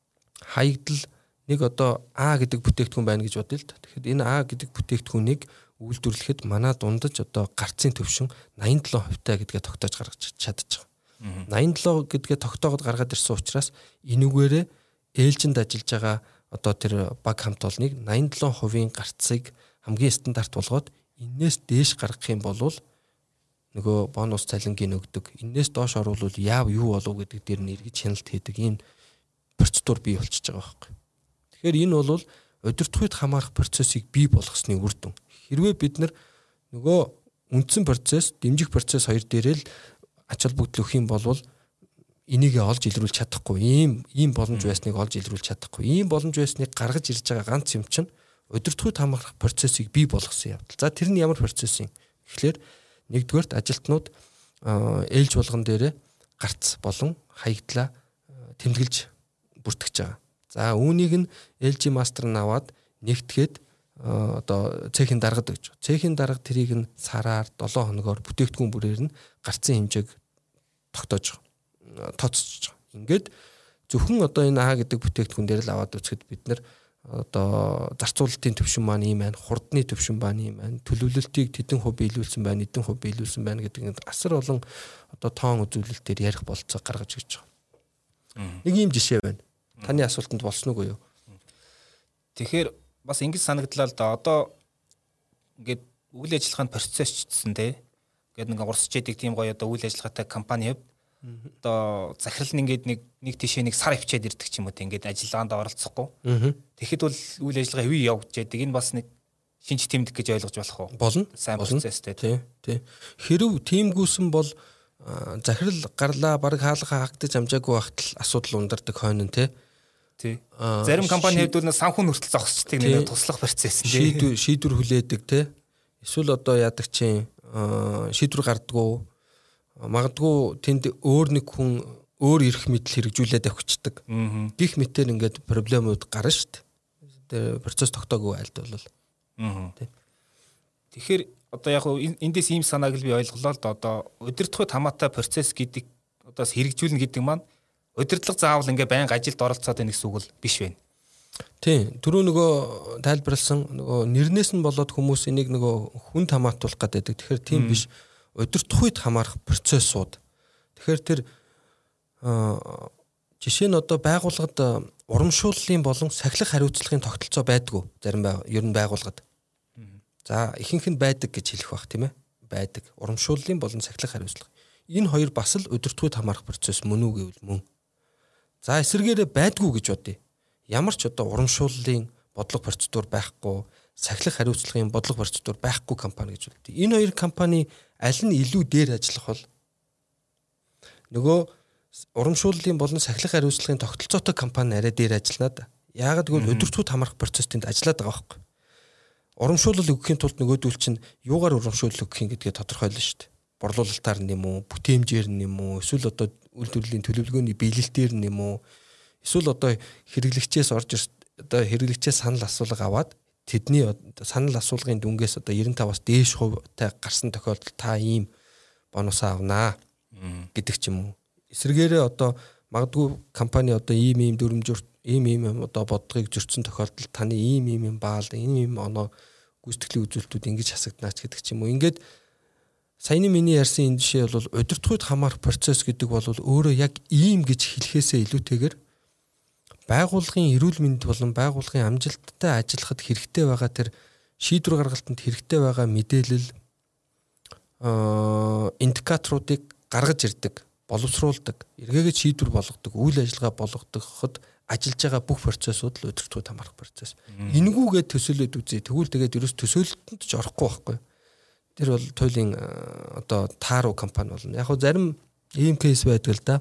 хаягдл нэг одоо А гэдэг бүтээгдэхүүн байна гэж бодъё л да. Тэгэхээр энэ А гэдэг бүтээгдэхүүнийг үйлдвэрлэхэд манай дундаж одоо гарцын төвшин найман долоо хувьтай гэдгээ тогтоож гаргаж чадчих. найман долоо гэдгээ тогтоогод гаргаад ирсэн учраас энүүгээрээ ээлжинд ажиллаж байгаа одоо тэр баг хамт олныг найман долоо хувийн гарцыг хамгийн стандарт болгоод энээс дээш гаргах юм бол нөгөө бонус цалингийн өгдөг. Энээс доош оруулвал яав юу болов гэдэг дээр нь эргэж хяналт хийдэг ийм процедур бий болчихж байгаа байхгүй. Тэгэхээр энэ бол удирдахуйд хамаарах процессыг бий болгосны үр дүн. Хэрвээ бид нар нөгөө үндсэн процесс, дэмжих процесс хоёр дээрээ л ач холбогдол өгөх юм бол энийг олж илрүүлж чадахгүй. Ийм ийм боломж байсныг олж илрүүлж чадахгүй. Ийм боломж байсныг гаргаж ирж байгаа ганц юм чинь удирдахуйд хамаарах процессыг бий болгосон явдал. За тэр нь ямар процесс юм? Тэгэхээр нэгдүгээрт ажилтнууд ээлж болгон дээрээ гарц болон хаягдлаа тэмдэглэж бүртгэж байгаа. За үүнийг нь эл жи мастер нь аваад нэгтгээд одоо цехийн даргад гэж. Цехийн дарга тэрийг нь сараар долоо хоногоор бүтээгдэхүүн бүрээр нь гарцын хэмжээг тогтоож байгаа. Тооцож байгаа. Ингээд зөвхөн одоо энэ А гэдэг бүтээгдэхүүн дээр л аваад үзэхэд бид нар одоо зарцуулалтын төвшин маань ийм байна, хурдны төвшин маань ийм байна, төлөвлөлтийг тэдэн хувь биелүүлсэн байна, эдэн хувь биелүүлсэн байна гэдэг нь асар олон одоо тоон үзүүлэлтээр ярих болцоо гаргаж ирж байгаа. Нэг ийм жишээ байна. Таны асуултанд болсон уу юу? Тэгэхээр бас ингэж санагдлаа л да. Одоо ингээд үйл ажиллагаанд процессчдсэн те. Ингээд нэг урсч яадаг тийм гоё одоо үйл ажиллагаатай компани хэв. Одоо захирал нь ингээд нэг нэг тишээ нэг сар авчиад ирдэг ч юм уу те. Ингээд ажиллагаанд оролцохгүй. Тэгэхэд бол үйл ажиллагаа хэвээ явж яадаг. Энэ бас нэг шинж тэмдэг гэж ойлгож болох уу? Болно. Сайн процесстэй тий. Тий. Хэрв тиймгүйсэн бол захирал гарлаа баг хаалга хаагдаж амжаагүй багт л асуудал ундардаг хойно тий. Тий. Зарим компани хэвдүүл санхүү хүртэл зогсчдаг нэг туслах процесс тий. Шийдвэр шийдвэр хүлээдэг тий. Эсвэл одоо яадаг чинь шийдвэр гардггүй магадгүй тэнд өөр нэг хүн өөр эрх мэдэл хэрэгжүүлээд авчдаг. Гих мэтээр ингээд проблемууд гарна шүү дээ. Процесс тогтоогүй айлт бол. Тэгэхээр одоо яг эндээс ийм санааг л би ойлголоо л да. Одоо удирдахуйд хамаатай процесс гэдэг одоос хэрэгжүүлнэ гэдэг маань удирдлага заавал ингээ байнга ажилд оролцоод байх гэсэн үг л биш байна. Тийм. Түрүү нөгөө тайлбарлсан нөгөө нэрнээс нь болоод хүмүүс энийг нөгөө хүнд хамаатуулах гэдэг. Тэгэхээр тийм биш. Удирдахуйд хамаарах процессууд. Тэгэхээр тэр жишээ нь одоо байгууллагад урамшууллын болон сахилах хариуцлагын тогтолцоо байдгүй зарим ер нь байгууллагад. За ихэнх нь байдаг гэж хэлэх бах тийм ээ. Байдаг. Урамшууллын болон сахилах хариуцлага. Энэ хоёр бас л удирдахуйд хамаарах процесс мөн үү гэвэл мөн. За эсвэргээрээ байдгүй гэж бодъё. Ямар ч одоо урамшууллын бодлого процедур байхгүй, сахилах хариуцлагын бодлого процедур байхгүй компани гэж бодъё. Энэ хоёр компани аль нь илүү дээр ажиллах бол нөгөө урамшууллын болон сахилах хариуцлагын тогтолцоотой компани арай дээр ажиллана да. Яагаад гэвэл удирдахуйд хамаарах процесс тэнд ажиллаад байгаа байхгүй. Урамшуулал өгөхийн тулд нөгөөдөл чинь юугаар урамшуулал өгөх юм гэдгээ тодорхойлно шүү дээ. Борлуулалтаар нэм үү, бүтээмжээр нэм үү, эсвэл одоо үйлдвэрлэлийн төлөвлөгөөний биелэлтээр нэм үү, эсвэл одоо хэрэглэгчээс орж одоо хэрэглэгчээс санал асуулга аваад тэдний санал асуулгын дүнгээс одоо девяносто таваас дээш хувьтай гарсан тохиолдолд та ийм бонус авнаа гэдэг ч юм уу. Эсвэргээрээ одоо магадгүй компани одоо ийм ийм дүрмжүрт ийм ийм одоо бодлогыг зөрчсөн тохиолдолд таны ийм ийм юм баал ийм ийм оноо гүйцэтгэлийн үзүүлэлтүүд ингэж хасагднаач гэдэг ч юм уу. Ингээд саяны миний ярьсан энэ жишээ бол удирдахуйд хамаарах процесс гэдэг бол өөрөө яг ийм гэж хэлэхээсээ илүүтэйгээр байгууллагын эрүүл мэнд болон байгууллагын амжилттай ажиллахад хэрэгтэй байгаа тэр шийдвэр гаргалтанд хэрэгтэй байгаа мэдээлэл индикаторуудыг гаргаж ирдэг, боловсруулдаг, эргээгээд шийдвэр болгодог, үйл ажиллагаа болгодоход ажиллаж байгаа бүх процессууд л удирдахуйд хамаарах процесс. Энэгүүгээ төсөөлөд үзье. Тэгвэл тэгээд ерөөс төсөөлөлтөнд ч орохгүй байхгүй. Тэр бол туйлын одоо тааруу компани болно. Яг хөө зарим ийм кейс байдаг л да.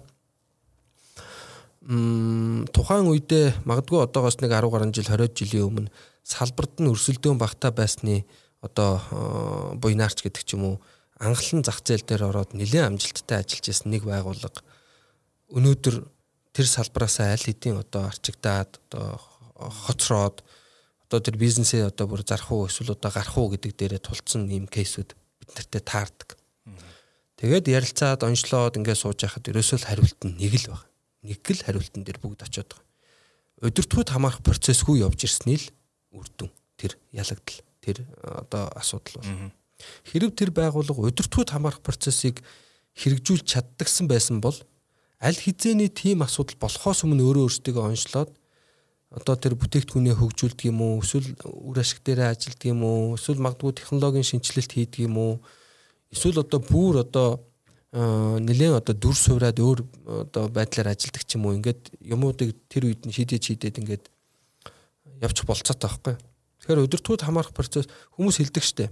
Мм тухайн үедээ магадгүй одоогоос нэг арван гаруй жил хориод жилийн өмнө салбарт нь өрсөлдөөн багтаа байсны одоо буйнаарч гэдэг ч юм уу анхлан зах зээл дээр ороод нэлээд амжилттай ажиллаж байсан нэг байгууллага өнөөдөр тэр салбараас аль хэдийн одоо арчигдаад одоо хоцроод одоо тэр бизнесээ одоо бүр зарах уу эсвэл одоо гарах уу гэдэг дээрээ тулцсан ийм кейсүүд бид нартэй таардаг. Тэгээд ярилцаад онцлоод ингээд сууж байхад ерөөсөө л хариулт нь нэг л байна. Нэг л хариултан дээр бүгд очиод байгаа. Удирдахуйд хамаарах процессгүй явж ирсний л үр дүн тэр ялагдал. тэр одоо асуудал бол. Хэрв тэр байгууллага удирдлагууд хамаарах процессыг хэрэгжүүлж чаддагсан байсан бол аль хизээний тийм асуудал болохоос өмнө өөрөө өөрсдөө онцлоод одоо тэр бүтээгдэхүүнээ хөгжүүлдэг юм уу, эсвэл үр ашиг дээрээ ажилладаг юм уу, эсвэл магадгүй технологийн шинжилэлт хийдэг юм уу, эсвэл одоо бүр одоо нэлээд одоо дүр суураад өөр одоо байдлаар ажилладаг ч юм уу, ингээд юмуудыг тэр үед нь шийдэж шийдээд ингээд явчих болцоотой байхгүй. Тэгэхээр удирдлагууд хамаарах процесс хүмүүс хэлдэг штэ.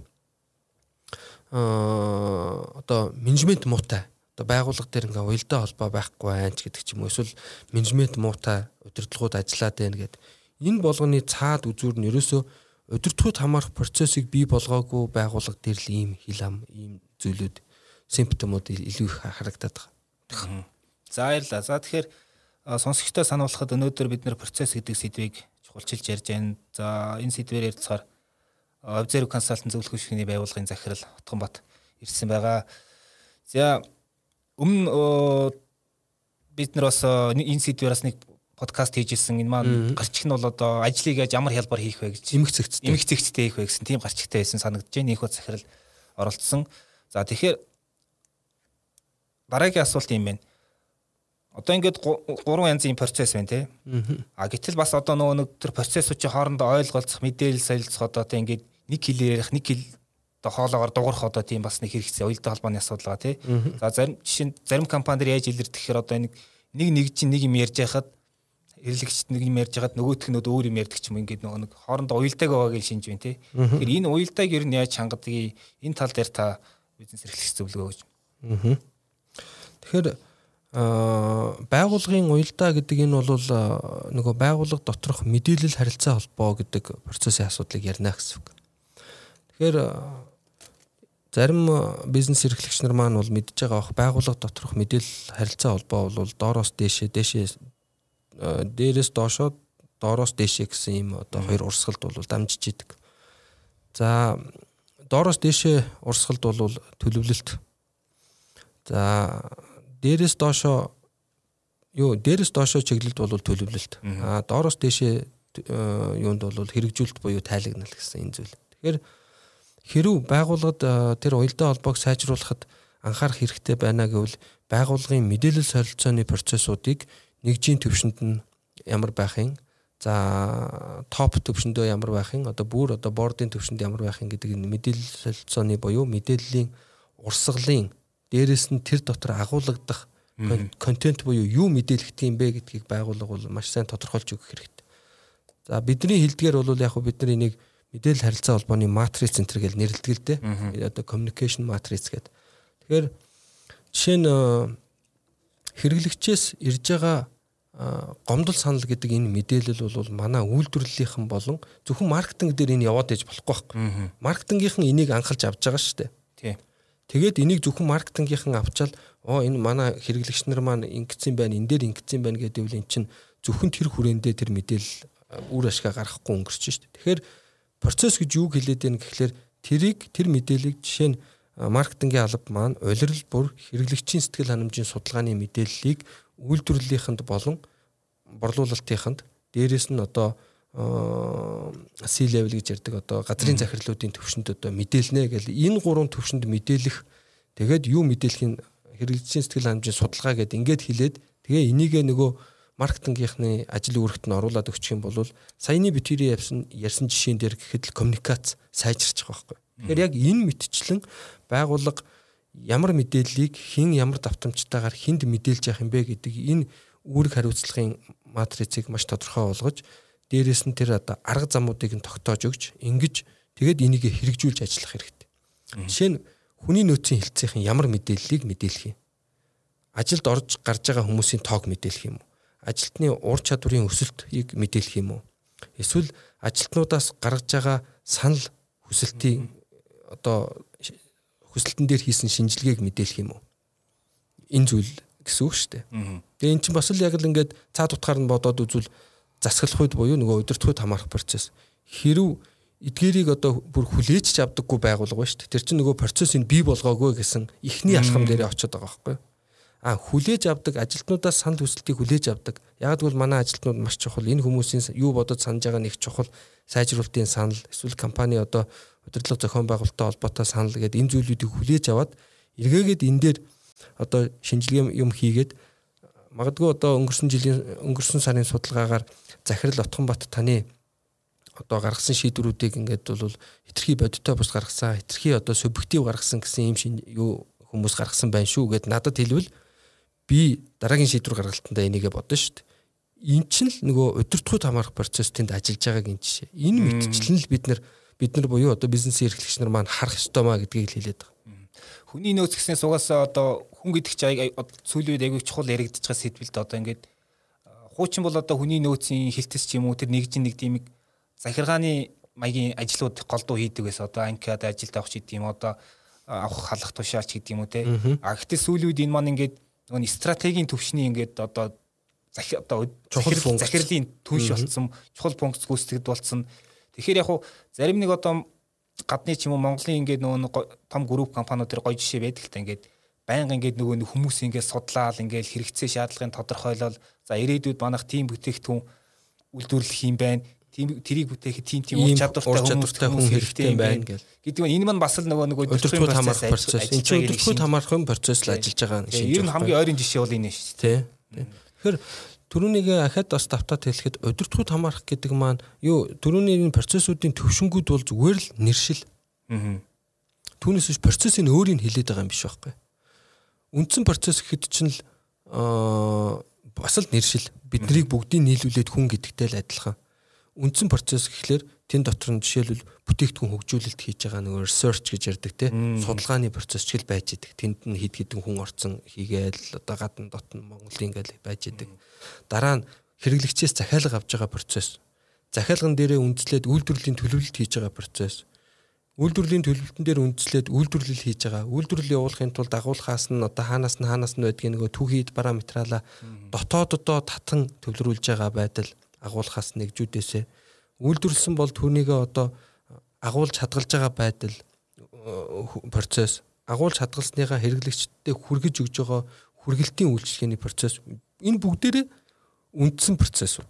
Аа одоо менежмент муутай. Одоо байгууллага дээр ингээ уялдаа холбоо байхгүй байх гэдэг ч юм уу. Эсвэл менежмент муутай удирдлагууд ажиллаад байна гэд. Энэ болгоны цаад үзүүр нь ерөөсөө удирдлагууд хамаарах процессыг бий болгоогүй байгууллага дээр л ийм хил ам, ийм зүйлүүд, симптомууд илүү их харагдаад байгаа. За баярлалаа. За тэгэхээр сонсогчдоо сануулхад өнөөдөр бид нэр процесс гэдэг сэдвийг чухалчилж ярьж байна. За энэ сэдвээр ярилцахаар Observe Consulting зөвлөх хөшгөний байгууллагын захирал Утганбат ирсэн байгаа. За өмнө бид нар бас энэ сэдвээр бас нэг подкаст хийжсэн. Энэ маань гарчиг нь бол одоо ажлыг яаж ямар хялбар хийх вэ гэж эмх зэгцтэй эмх зэгцтэй хийх вэ гэсэн тийм гарчигтай байсан санагдаж байна. Их хот захирал оролцсон. За тэгэхээр дараагийн асуулт юм байна. Одоо ингээд гурван янзын процесс байна тий. А гэтэл бас одоо нөгөө нэг төр процессуудын хоорондоо ойлголцох, мэдээлэл солилцох одоо тий ингээд нэг хэлээр ярих, нэг хэл одоо хоолоогоор дуурах одоо тийм бас нэг хэрэгцээ уялдаа холбооны асуудал байгаа тий. За зарим жишээ нь зарим компаниуд яаж илэрдэг гэхээр одоо нэг нэг нэг чинь нэг юм ярьж байхад хэрэглэгчд нэг юм ярьж байхад нөгөөх нь өөр юм ярьдаг ч юм ингээд нөгөө нэг хоорондоо уялдааг байгаа гэж шинж байна тий. Тэгэхээр энэ уялдааг ер нь яаж хангадгийг энэ тал дээр та бизнес эрхлэгч зөвлөгөө өгч. Тэгэхээр Аа байгууллагын уялдаа гэдэг энэ бол нөгөө байгууллага доторх мэдээлэл харилцаа холбоо гэдэг процессын асуудлыг ярина гэсэн үг. Тэгэхээр зарим бизнес эрхлэгч нар маань бол мэдж байгаа бах байгууллага доторх мэдээлэл харилцаа холбоо бол доороос дээшээ дээшээ дээрээс доошоо доороос дээшээ гэсэн ийм одоо хоёр урсгалд бол дамжиж идэг. За доороос дээшээ урсгалд бол төлөвлөлт. За дээрээс доошоо юу дээрээс доошоо чиглэлд бол төлөвлөлт. Аа доороос дээшээ юунд бол хэрэгжүүлэлт буюу тайлагнал гэсэн энэ зүйл. Тэгэхээр хэрв байгууллагад тэр уялдаа холбоог сайжруулахад анхаарах хэрэгтэй байна гэвэл байгууллагын мэдээлэл солилцооны процессуудыг нэгжийн төвшөнд нь ямар байхын, за топ төвшөндөө ямар байхын, одоо бүр одоо бордын төвшөнд ямар байхын гэдэг энэ мэдээлэл солилцооны буюу мэдээллийн урсгалын дээрээс нь тэр дотор агуулгадах контент буюу юу мэдээлэгдэх юм бэ гэдгийг байгууллага бол маш сайн тодорхойлж өгөх хэрэгтэй. За бидний хэлдгээр бол яг бид нар энийг мэдээлэл харилцаа холбооны матриц центр гэж нэрлэдэг л дээ. Одоо communication matrix гэдэг. Тэгэхээр жишээ нь хэрэглэгчээс ирж байгаа гомдол санал гэдэг энэ мэдээлэл бол манай үйлдвэрлэлийнхэн болон зөвхөн маркетинг дээр энэ яваад иж болохгүй байхгүй. Маркетингийнхэн энийг анхалж авч байгаа шүү дээ. Тийм. Тэгээд энийг зөвхөн маркетингийнхэн авчаал оо энэ манай хэрэглэгч нар маань ингэсэн байна, энэ дээр ингэсэн байна гэдэг үл эн чинь зөвхөн тэр хүрээндээ тэр мэдээлэл үр ашгаа гаргахгүй өнгөрч шүү дээ. Тэгэхээр процесс гэж юу хэлээд байна гэхлээр тэрийг тэр мэдээллийг жишээ нь маркетингийн алба маань улирал бүр хэрэглэгчийн сэтгэл ханамжийн судалгааны мэдээллийг үйлдвэрлэлийнхэнд болон борлуулалтынханд дээрээс нь одоо C-level гэж ярьдаг одоо газрын захирлуудын төвшөнд одоо мэдээлнэ гэл энэ гурван төвшөнд мэдээлэх тэгээд юу мэдээлэхин хэрэглэгчийн сэтгэл ханамжийн судалгаа гэдэг ингээд хэлээд тэгээ энийгээ нөгөө маркетингийнхны ажил үүрэгт нь оруулаад өгчих юм бол саяны битүүрийн явсан ярьсан жишээн дээр гэхэд л коммуникац сайжирч байгаа байхгүй. Тэгэхээр яг энэ мэтчлэн байгууллага ямар мэдээллийг хэн ямар давтамжтайгаар хүнд мэдээлж явах юм бэ гэдэг энэ үүрэг хариуцлагын матрицыг маш тодорхой болгож дээрээс нь тэр одоо арга замуудыг нь тогтоож өгч ингэж тэгээд энийг хэрэгжүүлж ажиллах хэрэгтэй. Жишээ нь хүний нөөцийн хэлцээхэн ямар мэдээллийг мэдээлэх юм. Ажилд орж гарч байгаа хүмүүсийн тоог мэдээлэх юм уу? Ажилтны ур чадварын өсөлтийг мэдээлэх юм уу? Эсвэл ажилтнуудаас гаргаж байгаа санал хүсэлтийн одоо хүсэлтэн дээр хийсэн шинжилгээг мэдээлэх юм уу? Энэ зүйл гэсэн үг шүү дээ. Тэгээ эн чинь бас л яг л ингээд цаад утгаар нь бодоод үзвэл засаглах үед буюу нөгөө удирдахуйд хамаарах процесс. Хэрв эдгээрийг одоо бүр хүлээж ч авдаггүй байгуулга ба шүү дээ. Тэр чинь нөгөө процессыг бий болгоогүй гэсэн ихний алхам дээр очиод байгаа байхгүй юу? А хүлээж авдаг ажилтнуудаас санал хүсэлтийг хүлээж авдаг. Яг гэвэл манай ажилтнууд маш чухал. Энэ хүмүүсийн юу бодож санаж байгаа нэг чухал сайжруулалтын санал, эсвэл компани одоо удирдлага зохион байгуулалттай холбоотой санал гэдэг энэ зүйлүүдийг хүлээж аваад эргээгээд энэ дээр одоо шинжилгээ юм хийгээд магадгүй одоо өнгөрсөн жилийн өнгөрсөн сарын судалгаагаар Захирал Отгонбат таны одоо гаргасан шийдвэрүүдийг ингээд бол хэтэрхий бодиттой бус гаргасан, хэтэрхий одоо субъектив гаргасан гэсэн юм шин юу хүмүүс гаргасан байна шүү гэд надад хэлвэл би дараагийн шийдвэр гаргалтандаа энийгээ бодно шүү дээ. Эн чинь л нөгөө удирдахуйд хамаарах процесс тэнд ажиллаж байгааг энэ жишээ. Энэ мэдчлэн л бид нар бид нар буюу одоо бизнесийн эрхлэгч нар маань харах ёстой маа гэдгийг л хэлээд байгаа. Хүний нөөц гэснээр сугаасаа одоо хүн гэдэг чинь сүүлийн үед аягүй чухал яригдчихэж байгаа сэдвэлд одоо ингээд хуучин бол одоо хүний нөөцийн хилтэс ч юм уу тэр нэгж нэг тийм захиргааны маягийн ажлууд голдуу хийдэг байсан. Одоо анкиад ажилд авах ч гэдэг юм одоо авах халах тушаач гэдэг юм уу те. А гэхдээ сүүлийн үед энэ маань ингээд нөгөө стратегийн төвшний ингээд одоо захи одоо захирлын түнш болсон чухал функц гүйцэтгэд болсон. Тэгэхээр яг хуу зарим нэг одоо гадны ч юм уу Монголын ингээд нөгөө том групп компаниуд төр гоё жишээ байдаг л та ингээд байнга ингээд нөгөө хүмүүс ингээд судлаал ингээд хэрэгцээ шаардлагын тодорхойлол за ирээдүйд манайх тийм бүтээгдэхүүн үйлдвэрлэх юм байна. Тийм тэрийг бүтээхэд тийм тийм ур чадвартай хүн хэрэгтэй юм байна гэл. Гэдэг нь энэ маань бас л нөгөө нөгөө өдөртгүүд хамаарах процесс. Энэ чинь өдөртгүүд хамаарах юм процесс л ажиллаж байгаа юм шиг. Ер нь хамгийн ойрын жишээ бол энэ шүү дээ. Тэгэхээр түрүүнийг ахад бас давтаад хэлэхэд өдөртгүүд хамаарах гэдэг маань юу түрүүний энэ процессуудын төвшингүүд бол зүгээр л нэршил. Түүнээс биш процессын өөрийг хэлээд байгаа юм биш байхгүй. Үндсэн процесс гэхэд чинь л бас л нэршил. Биднийг бүгдийг нийлүүлээд хүн гэдэгтэй л адилхан. Үндсэн процесс гэхлээр тэн дотор нь жишээлбэл бүтээгдэхүүн хөгжүүлэлт хийж байгаа нөгөө research гэж ярддаг тийм судалгааны процесс ч л байж идэг. Тэнд нь хэд хэдэн хүн орцсон хийгээл одоо гадна дотн Монголын ингээл байж идэг. Дараа нь хэрэглэгчээс захиалга авч байгаа процесс. Захиалган дээрээ үндэслээд үйлдвэрлэлийн төлөвлөлт хийж байгаа процесс. Үйлдвэрлэлийн төлөвлөлтөн дээр үндэслээд үйлдвэрлэл хийж байгаа. Үйлдвэрлэл явуулахын тулд агуулгаас нь одоо хаанаас нь хаанаас нь байдгийг нөгөө түүхийд параметрала дотооддоо татан төвлөрүүлж байгаа байдал агуулгаас нэгжүүдээсээ үйлдвэрлэсэн бол түүнийгээ одоо агуулж хадгалж байгаа байдал процесс агуулж хадгалсныхаа хэрэглэгчдэд хүргэж өгж байгаа хүргэлтийн үйлчлэгээний процесс энэ бүгдээрээ үндсэн процессууд.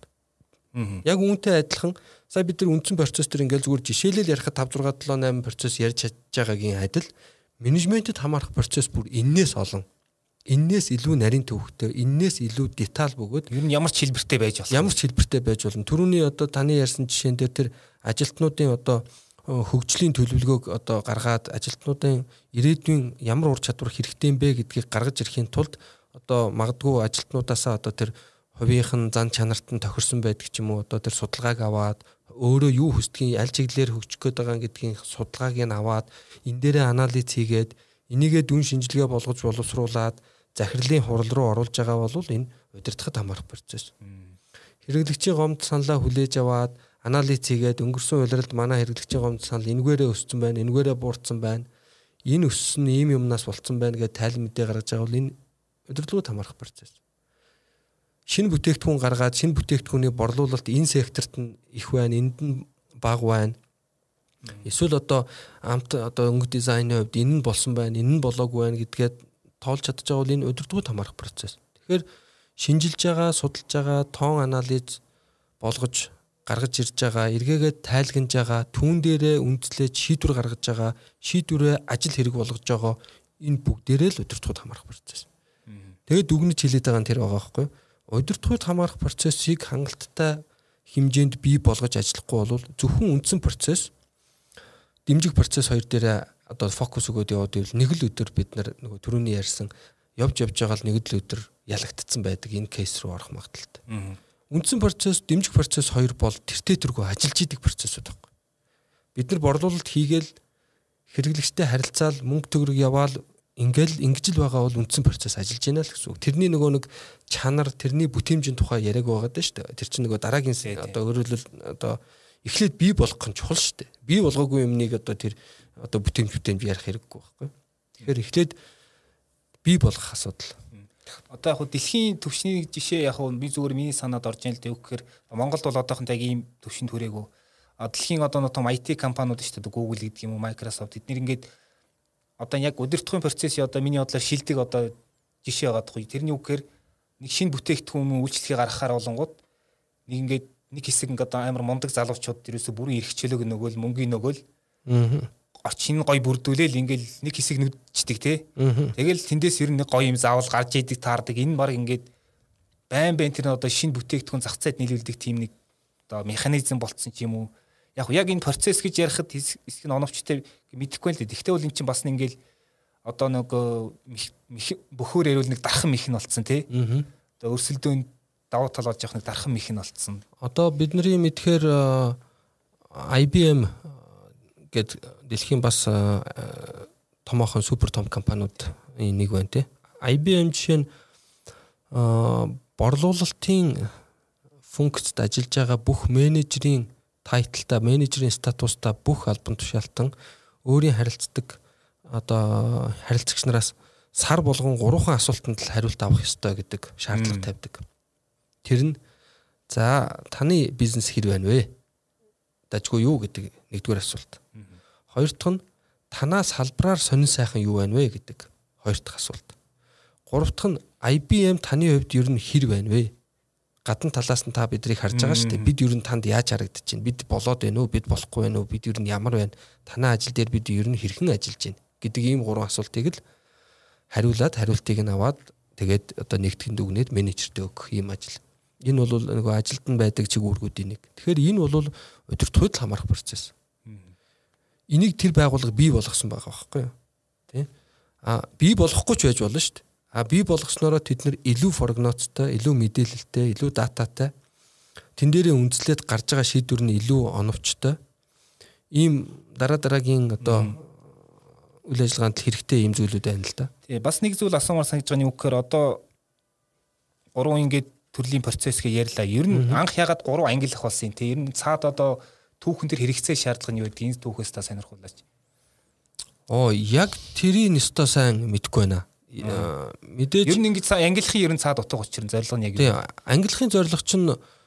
Яг үүнтэй адилхан сая бид нар үндсэн процесс төр ингээл зүгээр жишээлэл ярихад five six seven eight процесс ярьж чадж байгаагийн адил менежментэд хамаарах процесс бүр энээс олон энээс илүү нарийн төвхтэй, энээс илүү деталь бөгөөд ер нь ямар ч хэлбэртэй байж болно. Ямар ч хэлбэртэй байж болно. Түрүүний одоо таны ярьсан жишээн дээр тэр ажилтнуудын одоо хөгжлийн төлөвлөгөөг одоо гаргаад ажилтнуудын ирээдүйн ямар ур чадвар хэрэгтэй юм бэ гэдгийг гаргаж ирэхийн тулд одоо магадгүй ажилтнуудаасаа одоо тэр хувийнхэн зан чанарт нь тохирсон байдаг ч юм уу одоо тэр судалгааг аваад өөрөө юу хүсдгийг аль чиглэлээр хөгжих гээд байгаа гэдгийг судалгааг нь аваад энэ дээрээ анализ хийгээд энийгээ дүн шинжилгээ болгож боловсруулад захирлын хурал руу оруулж байгаа бол энэ удирдахад хамаарах процесс. Хэрэглэгчийн гомд саналаа хүлээж аваад анализ хийгээд өнгөрсөн улиралд манай хэрэглэгчийн гомд санал энэгээрээ өссөн байна, энэгээрээ буурсан байна. Энэ өссөн ийм юмнаас болцсон байна гэж тайл мэдээ гаргаж байгаа бол энэ удирдлагууд хамаарах процесс. Шинэ бүтээгдэхүүн гаргаад шинэ бүтээгдэхүүний борлуулалт энэ секторт нь их байна, энд нь бага байна. Эсвэл одоо амт одоо өнгө дизайны хувьд энэ нь болсон байна, энэ нь болоогүй байна гэдгээд тоолж чадж байгаа бол энэ удирдлагууд хамаарах процесс. Тэгэхээр шинжилж байгаа, судалж байгаа, тоон анализ болгож гаргаж ирж байгаа, эргээгээд тайлгнаж байгаа, түүн дээрээ үндэслэж шийдвэр гаргаж байгаа, шийдвэрээ ажил хэрэг болгож байгаа энэ бүгдээрээ л удирдлагууд хамаарах процесс. Тэгээд дүгнэж хэлээд байгаа нь тэр байгаа байхгүй юу? Удирдлагууд хамаарах процессыг хангалттай хэмжээнд бий болгож ажиллахгүй бол зөвхөн үндсэн процесс дэмжих процесс хоёр дээр одоо фокус өгөөд яваад ивэл нэг л өдөр бид нар нөгөө түрүүний ярьсан явж явж байгаа л нэг л өдөр ялагдцсан байдаг энэ кейс рүү орох магадaltaй. Үндсэн процесс, дэмжих процесс хоёр бол тэртээ тэргүй ажиллаж идэг процессууд байна. Бид нар борлуулалт хийгээл хэрэглэгчтэй харилцаал мөнгө төгрөг яваал ингээл ингэж л байгаа бол үндсэн процесс ажиллаж байна л гэсэн үг. Тэрний нөгөө нэг чанар, тэрний бүтээмжийн тухай яриаг байгаа даа шүү дээ. Тэр чинь нөгөө дараагийн одоо өөрөлдөл одоо эхлээд бий болгох нь чухал шүү дээ. Бий болгоогүй юмныг одоо тэр одоо бүтээмж бүтээмж ярих хэрэггүй байхгүй. Тэгэхээр эхлээд бий болгох асуудал. Одоо яг хөө дэлхийн төвшний жишээ яг хөө би зүгээр миний санаад орж ийн л дээ гэхээр Монголд бол одоохонд яг ийм төвшөнд хүрээгүй. Дэлхийн одоо нэг том ай ти компаниуд шүү дээ Google гэдэг юм уу Microsoft эдгээр ингээд одоо яг удирдахын процессын одоо миний бодлоор шилдэг одоо жишээ байгаа тоххой. Тэрний үгээр нэг шинэ бүтээгдэхүүн үйлчлэгийг гаргахаар болонгууд нэг ингээд нэг хэсэг ингээд амар мундаг залуучууд ерөөсө бүрэн эрхчлөөг нөгөөл мөнгөний нөгөөл орчин гой бүрдүүлээл ингээл нэг хэсэг нүдчдэг те. Тэгэл тэндээс ер нь нэг гоё юм заавал гарч идэг таардаг. Энэ баг ингээд байн байн тэр одоо шинэ бүтээгдэхүүн зах зээлд нийлүүлдэг тийм нэг одоо механизм болцсон ч юм уу. Яг яг энэ процесс гэж ярихад хэсэг нь оновчтой мэдэхгүй л дээ. Гэхдээ бол эн чинь бас ингээл одоо нэг бөхөр ярил нэг дархан мэх нь болцсон тий. Одоо өрсөлдөөнд давуу тал болж явах нэг дархан мэх нь болцсон. Одоо бидний мэдхээр ай би эм гэд дэлхийн бас томоохон супер том компаниуд нэг байна тий. ай би эм жишээ нь борлуулалтын функцид ажиллаж байгаа бүх менежерийн тайтлтай, менежерийн статустай бүх албан тушаалтан өөрийн харилцдаг одоо харилцагч нараас сар болгон гурван асуултанд л хариулт авах ёстой гэдэг шаардлага тавьдаг. Тэр нь за таны бизнес хэр байна вэ? Дажгүй юу гэдэг нэгдүгээр асуулт. Хоёр дахь нь танаас салбараар сонин сайхан юу байна вэ гэдэг хоёр дахь асуулт. Гурав дахь нь ай би эм таны хувьд ер нь хэр байна вэ? Гадна талаас нь та бидрийг харж байгаа шүү дээ. Бид ер нь танд яаж харагдаж байна? Бид болоод байна уу? Бид болохгүй байна уу? Бид ер нь ямар байна? Танай ажил дээр бид ер нь хэрхэн ажиллаж байна гэдэг ийм гурван асуултыг л хариулаад хариултыг нь аваад тэгээд одоо нэгтгэн дүгнээд менежертэй өгөх ийм ажил. Энэ бол нөгөө ажилд нь байдаг чиг үүргүүдийн нэг. Тэгэхээр энэ бол удирдлагыг хамаарах процесс. Энийг тэр байгууллага бий болгосон байгаа байхгүй юу? Тэ? А бий болохгүй ч байж болно шүү дээ. А бий болгоснороо тэд нэр илүү прогнозтой, илүү мэдээлэлтэй, илүү дататай тэн дээрээ үндэслээд гарч байгаа шийдвэр нь илүү оновчтой. Ийм дараа дараагийн одоо үйл ажиллагаанд хэрэгтэй ийм зүйлүүд байна л да. Тий, бас нэг зүйл асуумаар санагдж байгаа нь юу гэхээр одоо гурван ингээд төрлийн процесс гээ ярьлаа. Ер нь анх ягаад гурван ангилах болсон юм те? Ер нь цаад одоо түүхэн төр хэрэгцээ шаардлага нь юу гэдэг энэ түүхээс та сонирхуулаач. Оо, яг тэрийн өстой сайн мэдэхгүй байна. Мэдээж ер нь ингэж ангилахын ер нь цаад утга учир нь зорилго нь яг юу? Ангилахын зорилго чинь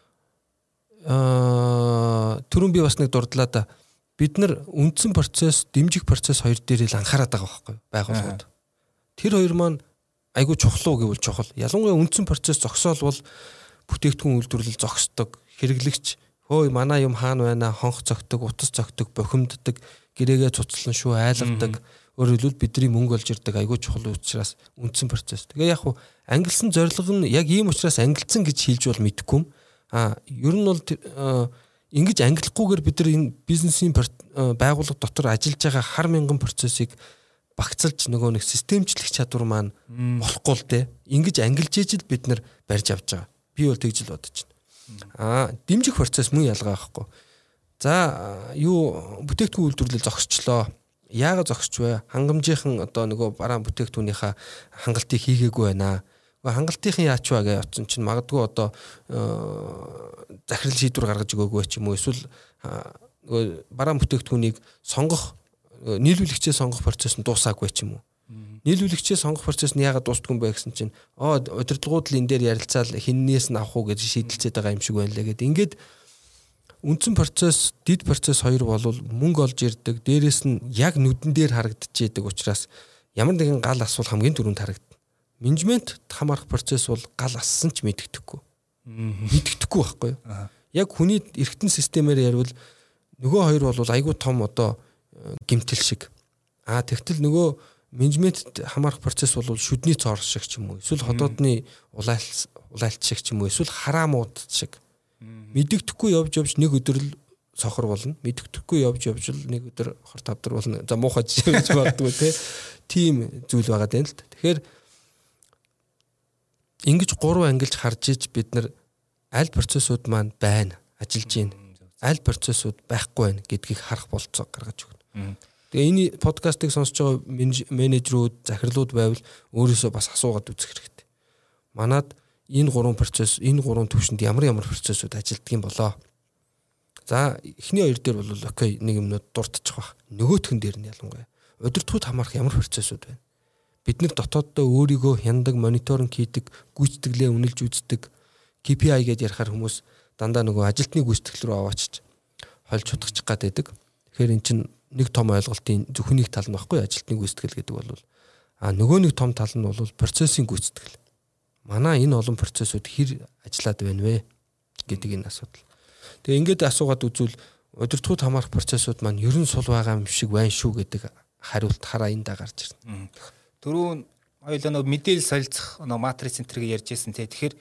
аа түрүүн би бас нэг дурдлаа да. Бид нар үндсэн процесс, дэмжих процесс хоёр дээр л анхаарат байгаа байхгүй байгууллагууд. Тэр хоёр маань айгүй чухал уу гэвэл чухал. Ялангуяа үндсэн процесс зогсоол бол бүтээгдэхүүн үйлдвэрлэл зогсдог, хэрэглэгч хөөе манай юм хаана байна, хонх цогтөг, утас цогтөг, бохимддаг, гэрээгээ цуцлан шүү айлгадаг. Өөрөөр хэлбэл бидний мөнгө олж ирдэг айгүй чухал учраас үндсэн процесс. Тэгээ яг хуу ангилсан зорилго нь яг ийм учраас ангилцсан гэж хэлж бол мэдэхгүй юм. А ер нь бол ингэж ангилахгүйгээр бид нар энэ бизнесийн байгууллага дотор ажиллаж байгаа хар мянган процессыг багцалж нөгөө нэг системчлэх чадвар маань болохгүй л дээ. Ингэж ангилж ижил бид нар барьж авч байгаа. Би бол тэгж л бодож байна. Аа дэмжих процесс мөн ялгаа байхгүй. За юу бүтээгдэхүүн үйлдвэрлэл зогсчлоо. Яагаад зогсч вэ? Хангамжийнхан одоо нөгөө бараан бүтээгдэхүүнийхээ хангалтыг хийгээгүй байна. Нөгөө хангалтынхын яач вэ гэж утсан чинь магадгүй одоо захирал шийдвэр гаргаж өгөөгүй ч юм уу эсвэл нөгөө бараан бүтээгдэхүүнийг сонгох нийлүүлэгчээ сонгох процесс нь дуусаагүй ч юм уу. Нийлүүлэгчээ сонгох процесс нь яагаад дуустгүй юм бэ гэсэн чинь оо удирдлагууд л энэ дээр ярилцаал хиннээс нь авах уу гэж шийдэлцээд байгаа юм шиг байна лээ гэд. Ингээд үндсэн процесс, дид процесс хоёр бол мөнгө олж ирдэг. Дээрээс нь яг нүдэн дээр харагдчихэдэг учраас ямар нэгэн гал асуул хамгийн түрүүнд харагдана. Менежмент хамаарах процесс бол гал ассан ч мэддэхгүй. Мэддэхгүй байхгүй юу? Яг хүний эргэтэн системээр ярил нөгөө хоёр бол айгүй том одоо гимтэл шиг. Аа тэгтэл нөгөө менежмент хамаарах процесс бол шүдний цоор шиг ч юм уу. Эсвэл ходоодны улаалт улаалт шиг ч юм уу. Эсвэл хараамууд шиг. Мэддэхгүй явж явж нэг өдөр л сохор болно. Мэддэхгүй явж явж л нэг өдөр хор тавдар болно. За муухай жишээ гэж боддгоо те. Тийм зүйл байгаа дээ л. Тэгэхээр ингэж гурван ангилж харж иж бид нар аль процессууд маань байна, ажиллаж байна. Аль процессууд байхгүй байна гэдгийг харах болцоо гаргаж өгнө. Тэгээ энэ подкастыг сонсож байгаа менежерүүд, захирлууд байвал өөрөөсөө бас асуугаад үзэх хэрэгтэй. Манад энэ гурван процесс, энэ гурван төвшөнд ямар ямар процессууд ажилддаг юм болоо. За эхний хоёр дээр бол окей нэг юмнууд дуртчих баг. Нөгөөхөн дээр нь ялангуяа удирдлагууд хамаарах ямар процессууд байна. Бид нар дотооддоо өөрийгөө хяндаг, мониторинг хийдэг, гүйцэтгэлээ үнэлж үздэг, кей пи ай гэдээ ярихаар хүмүүс дандаа нөгөө ажилтны гүйцэтгэл рүү аваачиж хольж чудахчих гад байдаг. Тэгэхээр эн чинь нэг том ойлголтын зөвхөн нэг тал нь баггүй ажилтны гүйцэтгэл гэдэг бол А нөгөө нэг том тал нь бол процессын гүйцэтгэл. Манай энэ олон процессыг хэр ажиллаад байна вэ гэдэг энэ асуудал. Тэгээ ингээд асуугаад үзвэл удирдлагууд хамаарах процессууд маань ерөн сул байгаа юм шиг байна шүү гэдэг хариулт хараа эндээ гарч ирнэ. Түрүүн хоёулаа нөгөө мэдээлэл солилцох нөгөө матрис центрийг ярьжсэн тий. Тэгэхээр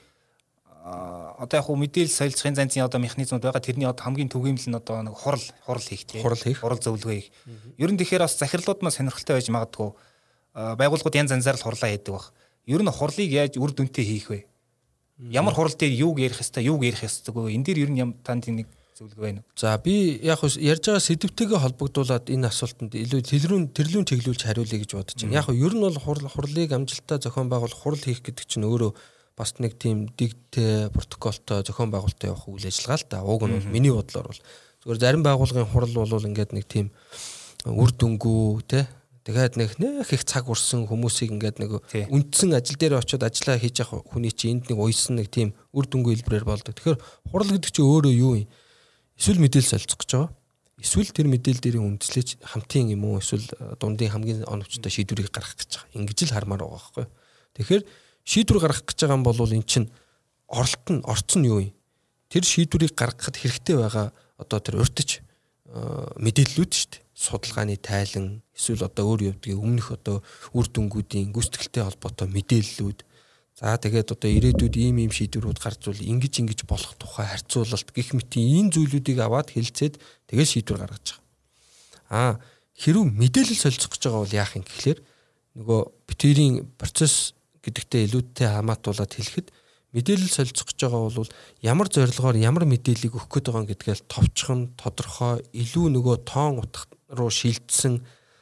одоо яг хуу мэдээлэл солилцохын занцын одоо механизмуд байгаа. Тэрний одоо хамгийн түгээмэл нь одоо нэг хурал хурал хийх тий. Хурал хийх. Хурал зөвлөгөө хийх. Ер нь тэгэхээр бас захирлууд маань сонирхолтой байж магадгүй. Байгууллагууд янз янзаар л хурлаа хийдэг баг. Ер нь хурлыг яаж үр дүнтэй хийх вэ? Ямар хурал дээр юуг ярих хэвээр юуг ярих хэвээр энэ дээр ер нь ям танд нэг зөвлөгөө байна уу? За би яг ярьж байгаа сэдвтэйгээ холбогдуулаад энэ асуултанд илүү тэлрүүн тэрлүүн чиглүүлж хариулъя гэж бодож байна. Яг ер нь бол хурал хурлыг амжилттай зохион байгуулах хурал хийх гэдэг чинь өөрөө бас нэг тийм дигтэй протоколтой зохион байгуулалттай явах үйл ажиллагаа л да. Уг нь бол миний бодлоор бол зүгээр зарим байгууллагын хурал бол ингээд нэг тийм үр дүнгүү те тэгээд нэг нэх их цаг урсан хүмүүсийг ингээд нэг үндсэн ажил дээр очиод ажиллаа хийж явах хүний чинь энд нэг уйсан нэг тийм үр дүнгүй хэлбэрээр болдог. Тэгэхээр хурал гэдэг чинь өөрөө юу юм? Эсвэл мэдээлэл солилцох гэж байгаа. Эсвэл тэр мэдээлэл дээрээ үндэслэж хамтын юм уу эсвэл дундын хамгийн оновчтой шийдвэрийг гаргах гэж байгаа. Ингэж л хармаар байгаа байхгүй. Тэгэхээр шийдвэр гаргах гэж байгаа юм бол эн чинь оролт нь орцсон нь юу юм? Тэр шийдвэрийг гаргахад хэрэгтэй байгаа одоо тэр урьдч мэдээллүүд шүү дээ. Судалгааны тайлан эсвэл одоо өөр явдгийн өмнөх одоо үр дүнгуудын гүйцэтгэлтэй холбоотой мэдээллүүд. За тэгээд одоо ирээдүйд ийм ийм шийдвэрүүд гарч ирвэл ингэж ингэж болох тухай харьцуулалт гэх мэт энэ зүйлүүдийг аваад хэлцээд тэгээд шийдвэр гаргаж байгаа. Аа хэрв мэдээлэл солилцох гэж байгаа бол яах юм гэхлээр нөгөө битэрийн процесс гэдэгтээ илүүдтэй хамаатуулаад хэлэхэд мэдээлэл солилцох гэж байгаа бол ямар зорилгоор ямар мэдээллийг өгөх гээд байгаа гэдгээл товчхон тодорхой илүү нөгөө тоон утга руу шилжсэн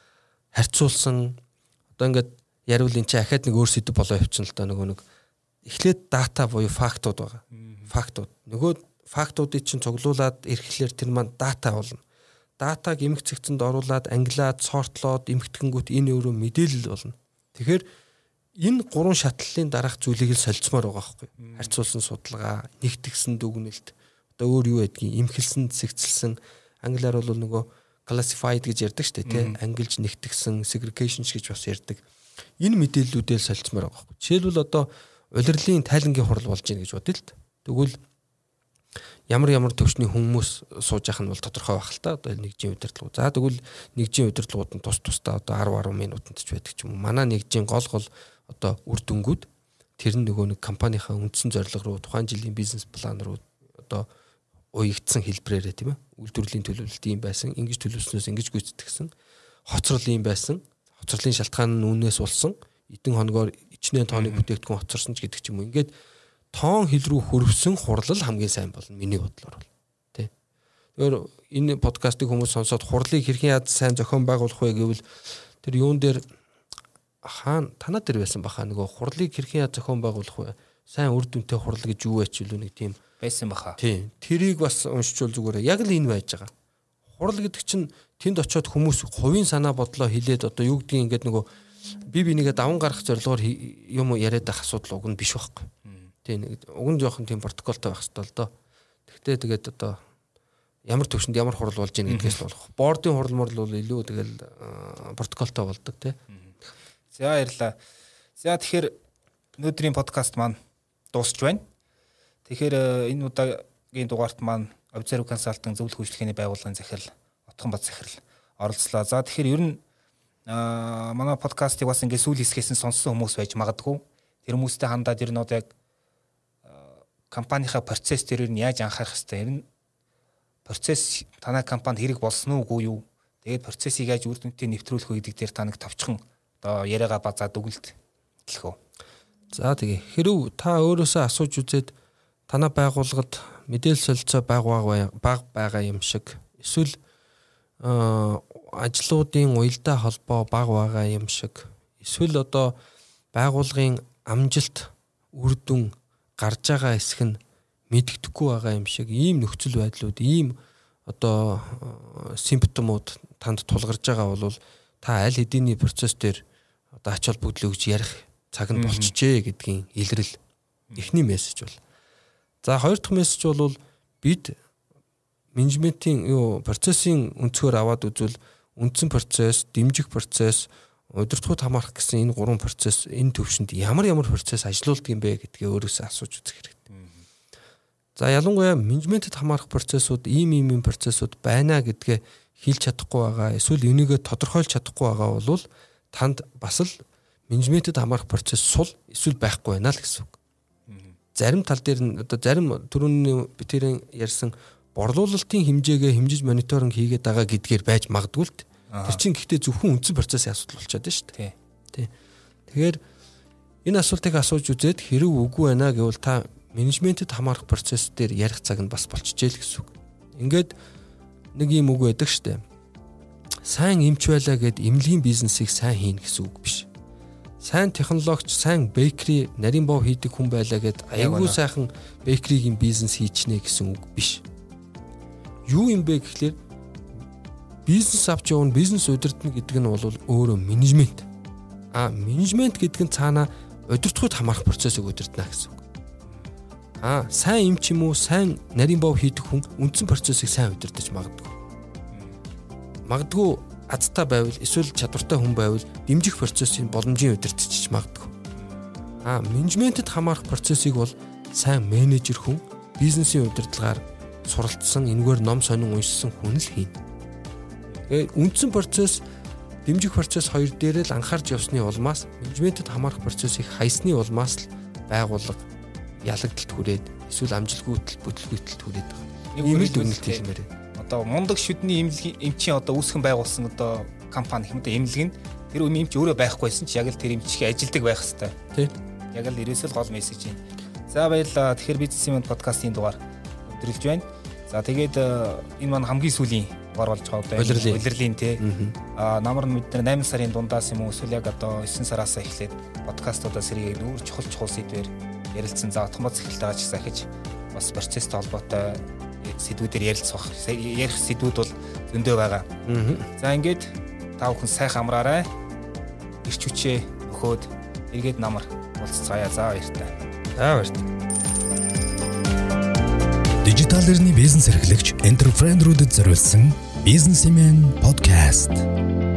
харьцуулсан одоо ингээд яривал энэ чи ахаад нэг өөр сэдв болоо явчихна л да нөгөө нэг эхлээд дата буюу фактууд байгаа. Фактууд. Нөгөө фактуудыг чинь цуглуулад ирэхлээр тэр маань дата болно. Датаг эмх цэгцэнд оруулаад англиад сортлоод эмхтгэнгүүт энэ өөрөө мэдээлэл болно. Тэгэхээр энэ гурван шатлалын дараах зүйлийг л солилцмоор байгаа байхгүй. Харьцуулсан судалгаа, нэгтгсэн дүгнэлт, одоо өөр юу байдгийг эмхэлсэн, цэгцэлсэн, англиар бол нөгөө classified гэж ярьдаг шүү дээ, тийм ангилж нэгтгсэн, segregation гэж бас ярьдаг. Энэ мэдээллүүдээ солилцмоор байгаа байхгүй. Жишээлбэл одоо улирлын тайлангийн хурал болж гин гэж бодъё л д. Тэгвэл ямар ямар төвчний хүмүүс сууж явах нь бол тодорхой байх л та. Одоо нэгжийн удирдлагууд. За тэгвэл нэгжийн удирдлагууд нь тус тустай одоо десять гаруй минутанд ч байдаг ч юм уу. Манай нэгжийн гол гол одоо үр дүнгууд тэр нь нөгөө нэг компанийнхаа үндсэн зорилго руу тухайн жилийн бизнес план руу одоо уягдсан хэлбрээрээ тийм ээ. Үйлдвэрлэлийн төлөвлөлт ийм байсан, ингэж төлөвлөснөөс ингэж гүйцэтгсэн, хоцрол ийм байсан, хоцролын шалтгаан нь үүнээс болсон, эдэн хоногоор ичнээн тооны бүтээгдэхүүн хоцорсон ч гэдэг ч юм уу. Ингээд тоон хил рүү хөрвсөн хурлал хамгийн сайн болно миний бодлоор бол тий. Тэгэхээр энэ подкастыг хүмүүс сонсоод хурлыг хэрхэн яаж сайн зохион байгуулах вэ гэвэл тэр юун дээр хаана танаа дээр байсан баха нөгөө хурлыг хэрхэн яаж зохион байгуулах вэ? Сайн үр дүнтэй хурал гэж юу вэ ч үлээ нэг тийм байсан баха. Тий. Тэрийг бас уншичвал зүгээр яг л энэ байж байгаа. Хурал гэдэг чинь тэнд очиод хүмүүс хувийн санаа бодлоо хэлээд одоо юу гэдгийг ингээд нөгөө би бинийгээ даван гарах зорилгоор юм яриад байх асуудал уг нь биш байхгүй. Тий нэг уг нь жоохон тийм протоколтой байх хэрэгтэй л доо. Тэгтээ тэгээд одоо ямар төвшөнд ямар хурал болж ийн гэдгээс л болох. Бордын хурал морл бол илүү тэгэл протоколтой болдог тий. За баярлалаа. За тэгэхээр өнөөдрийн подкаст маань дуусч байна. Тэгэхээр энэ удаагийн дугаарт маань Observe Consulting зөвлөх үйлчлэгээний байгууллагын захирал Отхон Бат захирал оролцлоо. За тэгэхээр ер нь манай подкастыг бас ингээд сүүл хэсгээс нь сонссон хүмүүс байж магадгүй. Тэр хүмүүстэй хандаад ер нь одоо яг компанийнхаа процесс дээр нь яаж анхаарах хэвээр ер нь процесс танай компанид хэрэг болсон уугүй юу? Тэгээд процессыг яаж үр дүнтэй нэвтрүүлэх вэ гэдэг дээр та нэг товчхон одоо яриагаа базаад өгөлт хэлэх үү. За тэгээ хэрв та өөрөөсөө асууж үзээд танай байгууллагад мэдээлэл солилцоо бага бага байгаа юм шиг эсвэл ажлуудын уялдаа холбоо бага байгаа юм шиг эсвэл одоо байгууллагын амжилт үр дүн гарч байгаа хэсэг нь мэддэхгүй байгаа юм шиг ийм нөхцөл байдлууд ийм одоо симптомууд танд тулгарч байгаа бол та аль хэдийн процесс дээр одоо ач холбогдол өгж ярих цаг нь болчихжээ гэдгийн илрэл эхний мессеж бол. За хоёр дахь мессеж бол бид менежментийн юу процессын өнцгөр аваад үзвэл үндсэн процесс, дэмжих процесс, удирдлагууд хамаарах гэсэн энэ гурван процесс энэ төвшөнд ямар ямар процесс ажилуулдаг юм бэ гэдгээ өөрөөсөө асууж үзэх хэрэгтэй. За ялангуяа менежментэд хамаарах процессууд ийм ийм ийм процессууд байна гэдгээ хэлж чадахгүй байгаа эсвэл энийгээ тодорхойлж чадахгүй байгаа бол танд бас л менежментэд хамаарах процесс сул эсвэл байхгүй байна л гэсэн үг. Зарим тал дээр нь одоо зарим түрүүний би тэрэн ярьсан борлуулалтын хэмжээгээ хэмжиж мониторинг хийгээд байгаа гэдгээр байж магадгүй л тэр чинь гэхдээ зөвхөн үндсэн процессын асуудал болчиход байна шүү дээ. Тий. Тэгэхээр энэ асуултыг асууж үзээд хэрэг үгүй байна гэвэл та менежментэд хамаарах процесс дээр ярих цаг нь бас болчихжээ л гэсэн үг. Ингээд нэг юм үг байдаг шүү дээ. Сайн эмч байлаа гэд эмнэлгийн бизнесийг сайн хийн гэсэн үг биш. Сайн технологич, сайн бейкери, нарийн бов хийдэг хүн байлаа гэд аягүй сайхан бейкеригийн бизнес хийчихнэ гэсэн үг биш. Юу юм бэ гэхлээр бизнес авч явна, бизнес удирдна гэдэг нь бол өөрөө менежмент. А менежмент гэдэг нь цаана удирдлагууд хамаарах процессыг удирдна гэсэн үг. А сайн эмч юм уу, сайн нарийн бов хийдэг хүн үндсэн процессыг сайн удирдах магадгүй. Магадгүй азтай байвал эсвэл чадвартай хүн байвал дэмжих процессын боломжийн удирдахч магадгүй. А менежментэд хамаарах процессыг бол сайн менежер хүн бизнесийн удирдлагаар суралцсан, энэгээр ном сонин уншсан хүн л хийнэ. Тэгээ үндсэн процесс, дэмжих процесс хоёр дээр л анхаарч явсны улмаас менежментэд хамаарах процессыг хайсны улмаас л байгууллага ялагдалт хүрээд эсвэл амжилтгүйтэл бүтлгүйтэл хүрээд байгаа. Ийм л дүгнэлт хэлмээр байна. Одоо мундаг шүдний эмнэлгийн эмчийн одоо үүсгэн байгуулсан одоо компани хэм одоо эмнэлэг нь тэр үн эмч өөрөө байхгүйсэн ч яг л тэр эмчийн ажилдаг байх хэрэгтэй. Тийм. Яг л ерөөсөө гол мессеж юм. За баярлалаа. Тэгэхээр бизнесмен подкастын дугаар өндөрлж байна. За тэгээд энэ маань хамгийн сүүлийн дугаар болж байгаа одоо улирлын тий. Аа намар нь бид нар восемь сарын дундаас юм уу эсвэл яг одоо девять сараас эхлээд подкастуудаа сэргийг нүүр чухал чухал сэдвээр ярилцсан. За автомат захиралтай ч захиж бас процесстэй холбоотой сэдвүүдээр ярилцах. Ярих сэдвүүд бол зөндөө байгаа. За ингээд та бүхэн сайхан амраарай. Ирч хүчээ өгөөд эргээд намар уулзцаая. За баяртай. За баяртай. Дижитал эрхний бизнес эрхлэгч энтерпренерүүдэд зориулсан бизнесмен подкаст.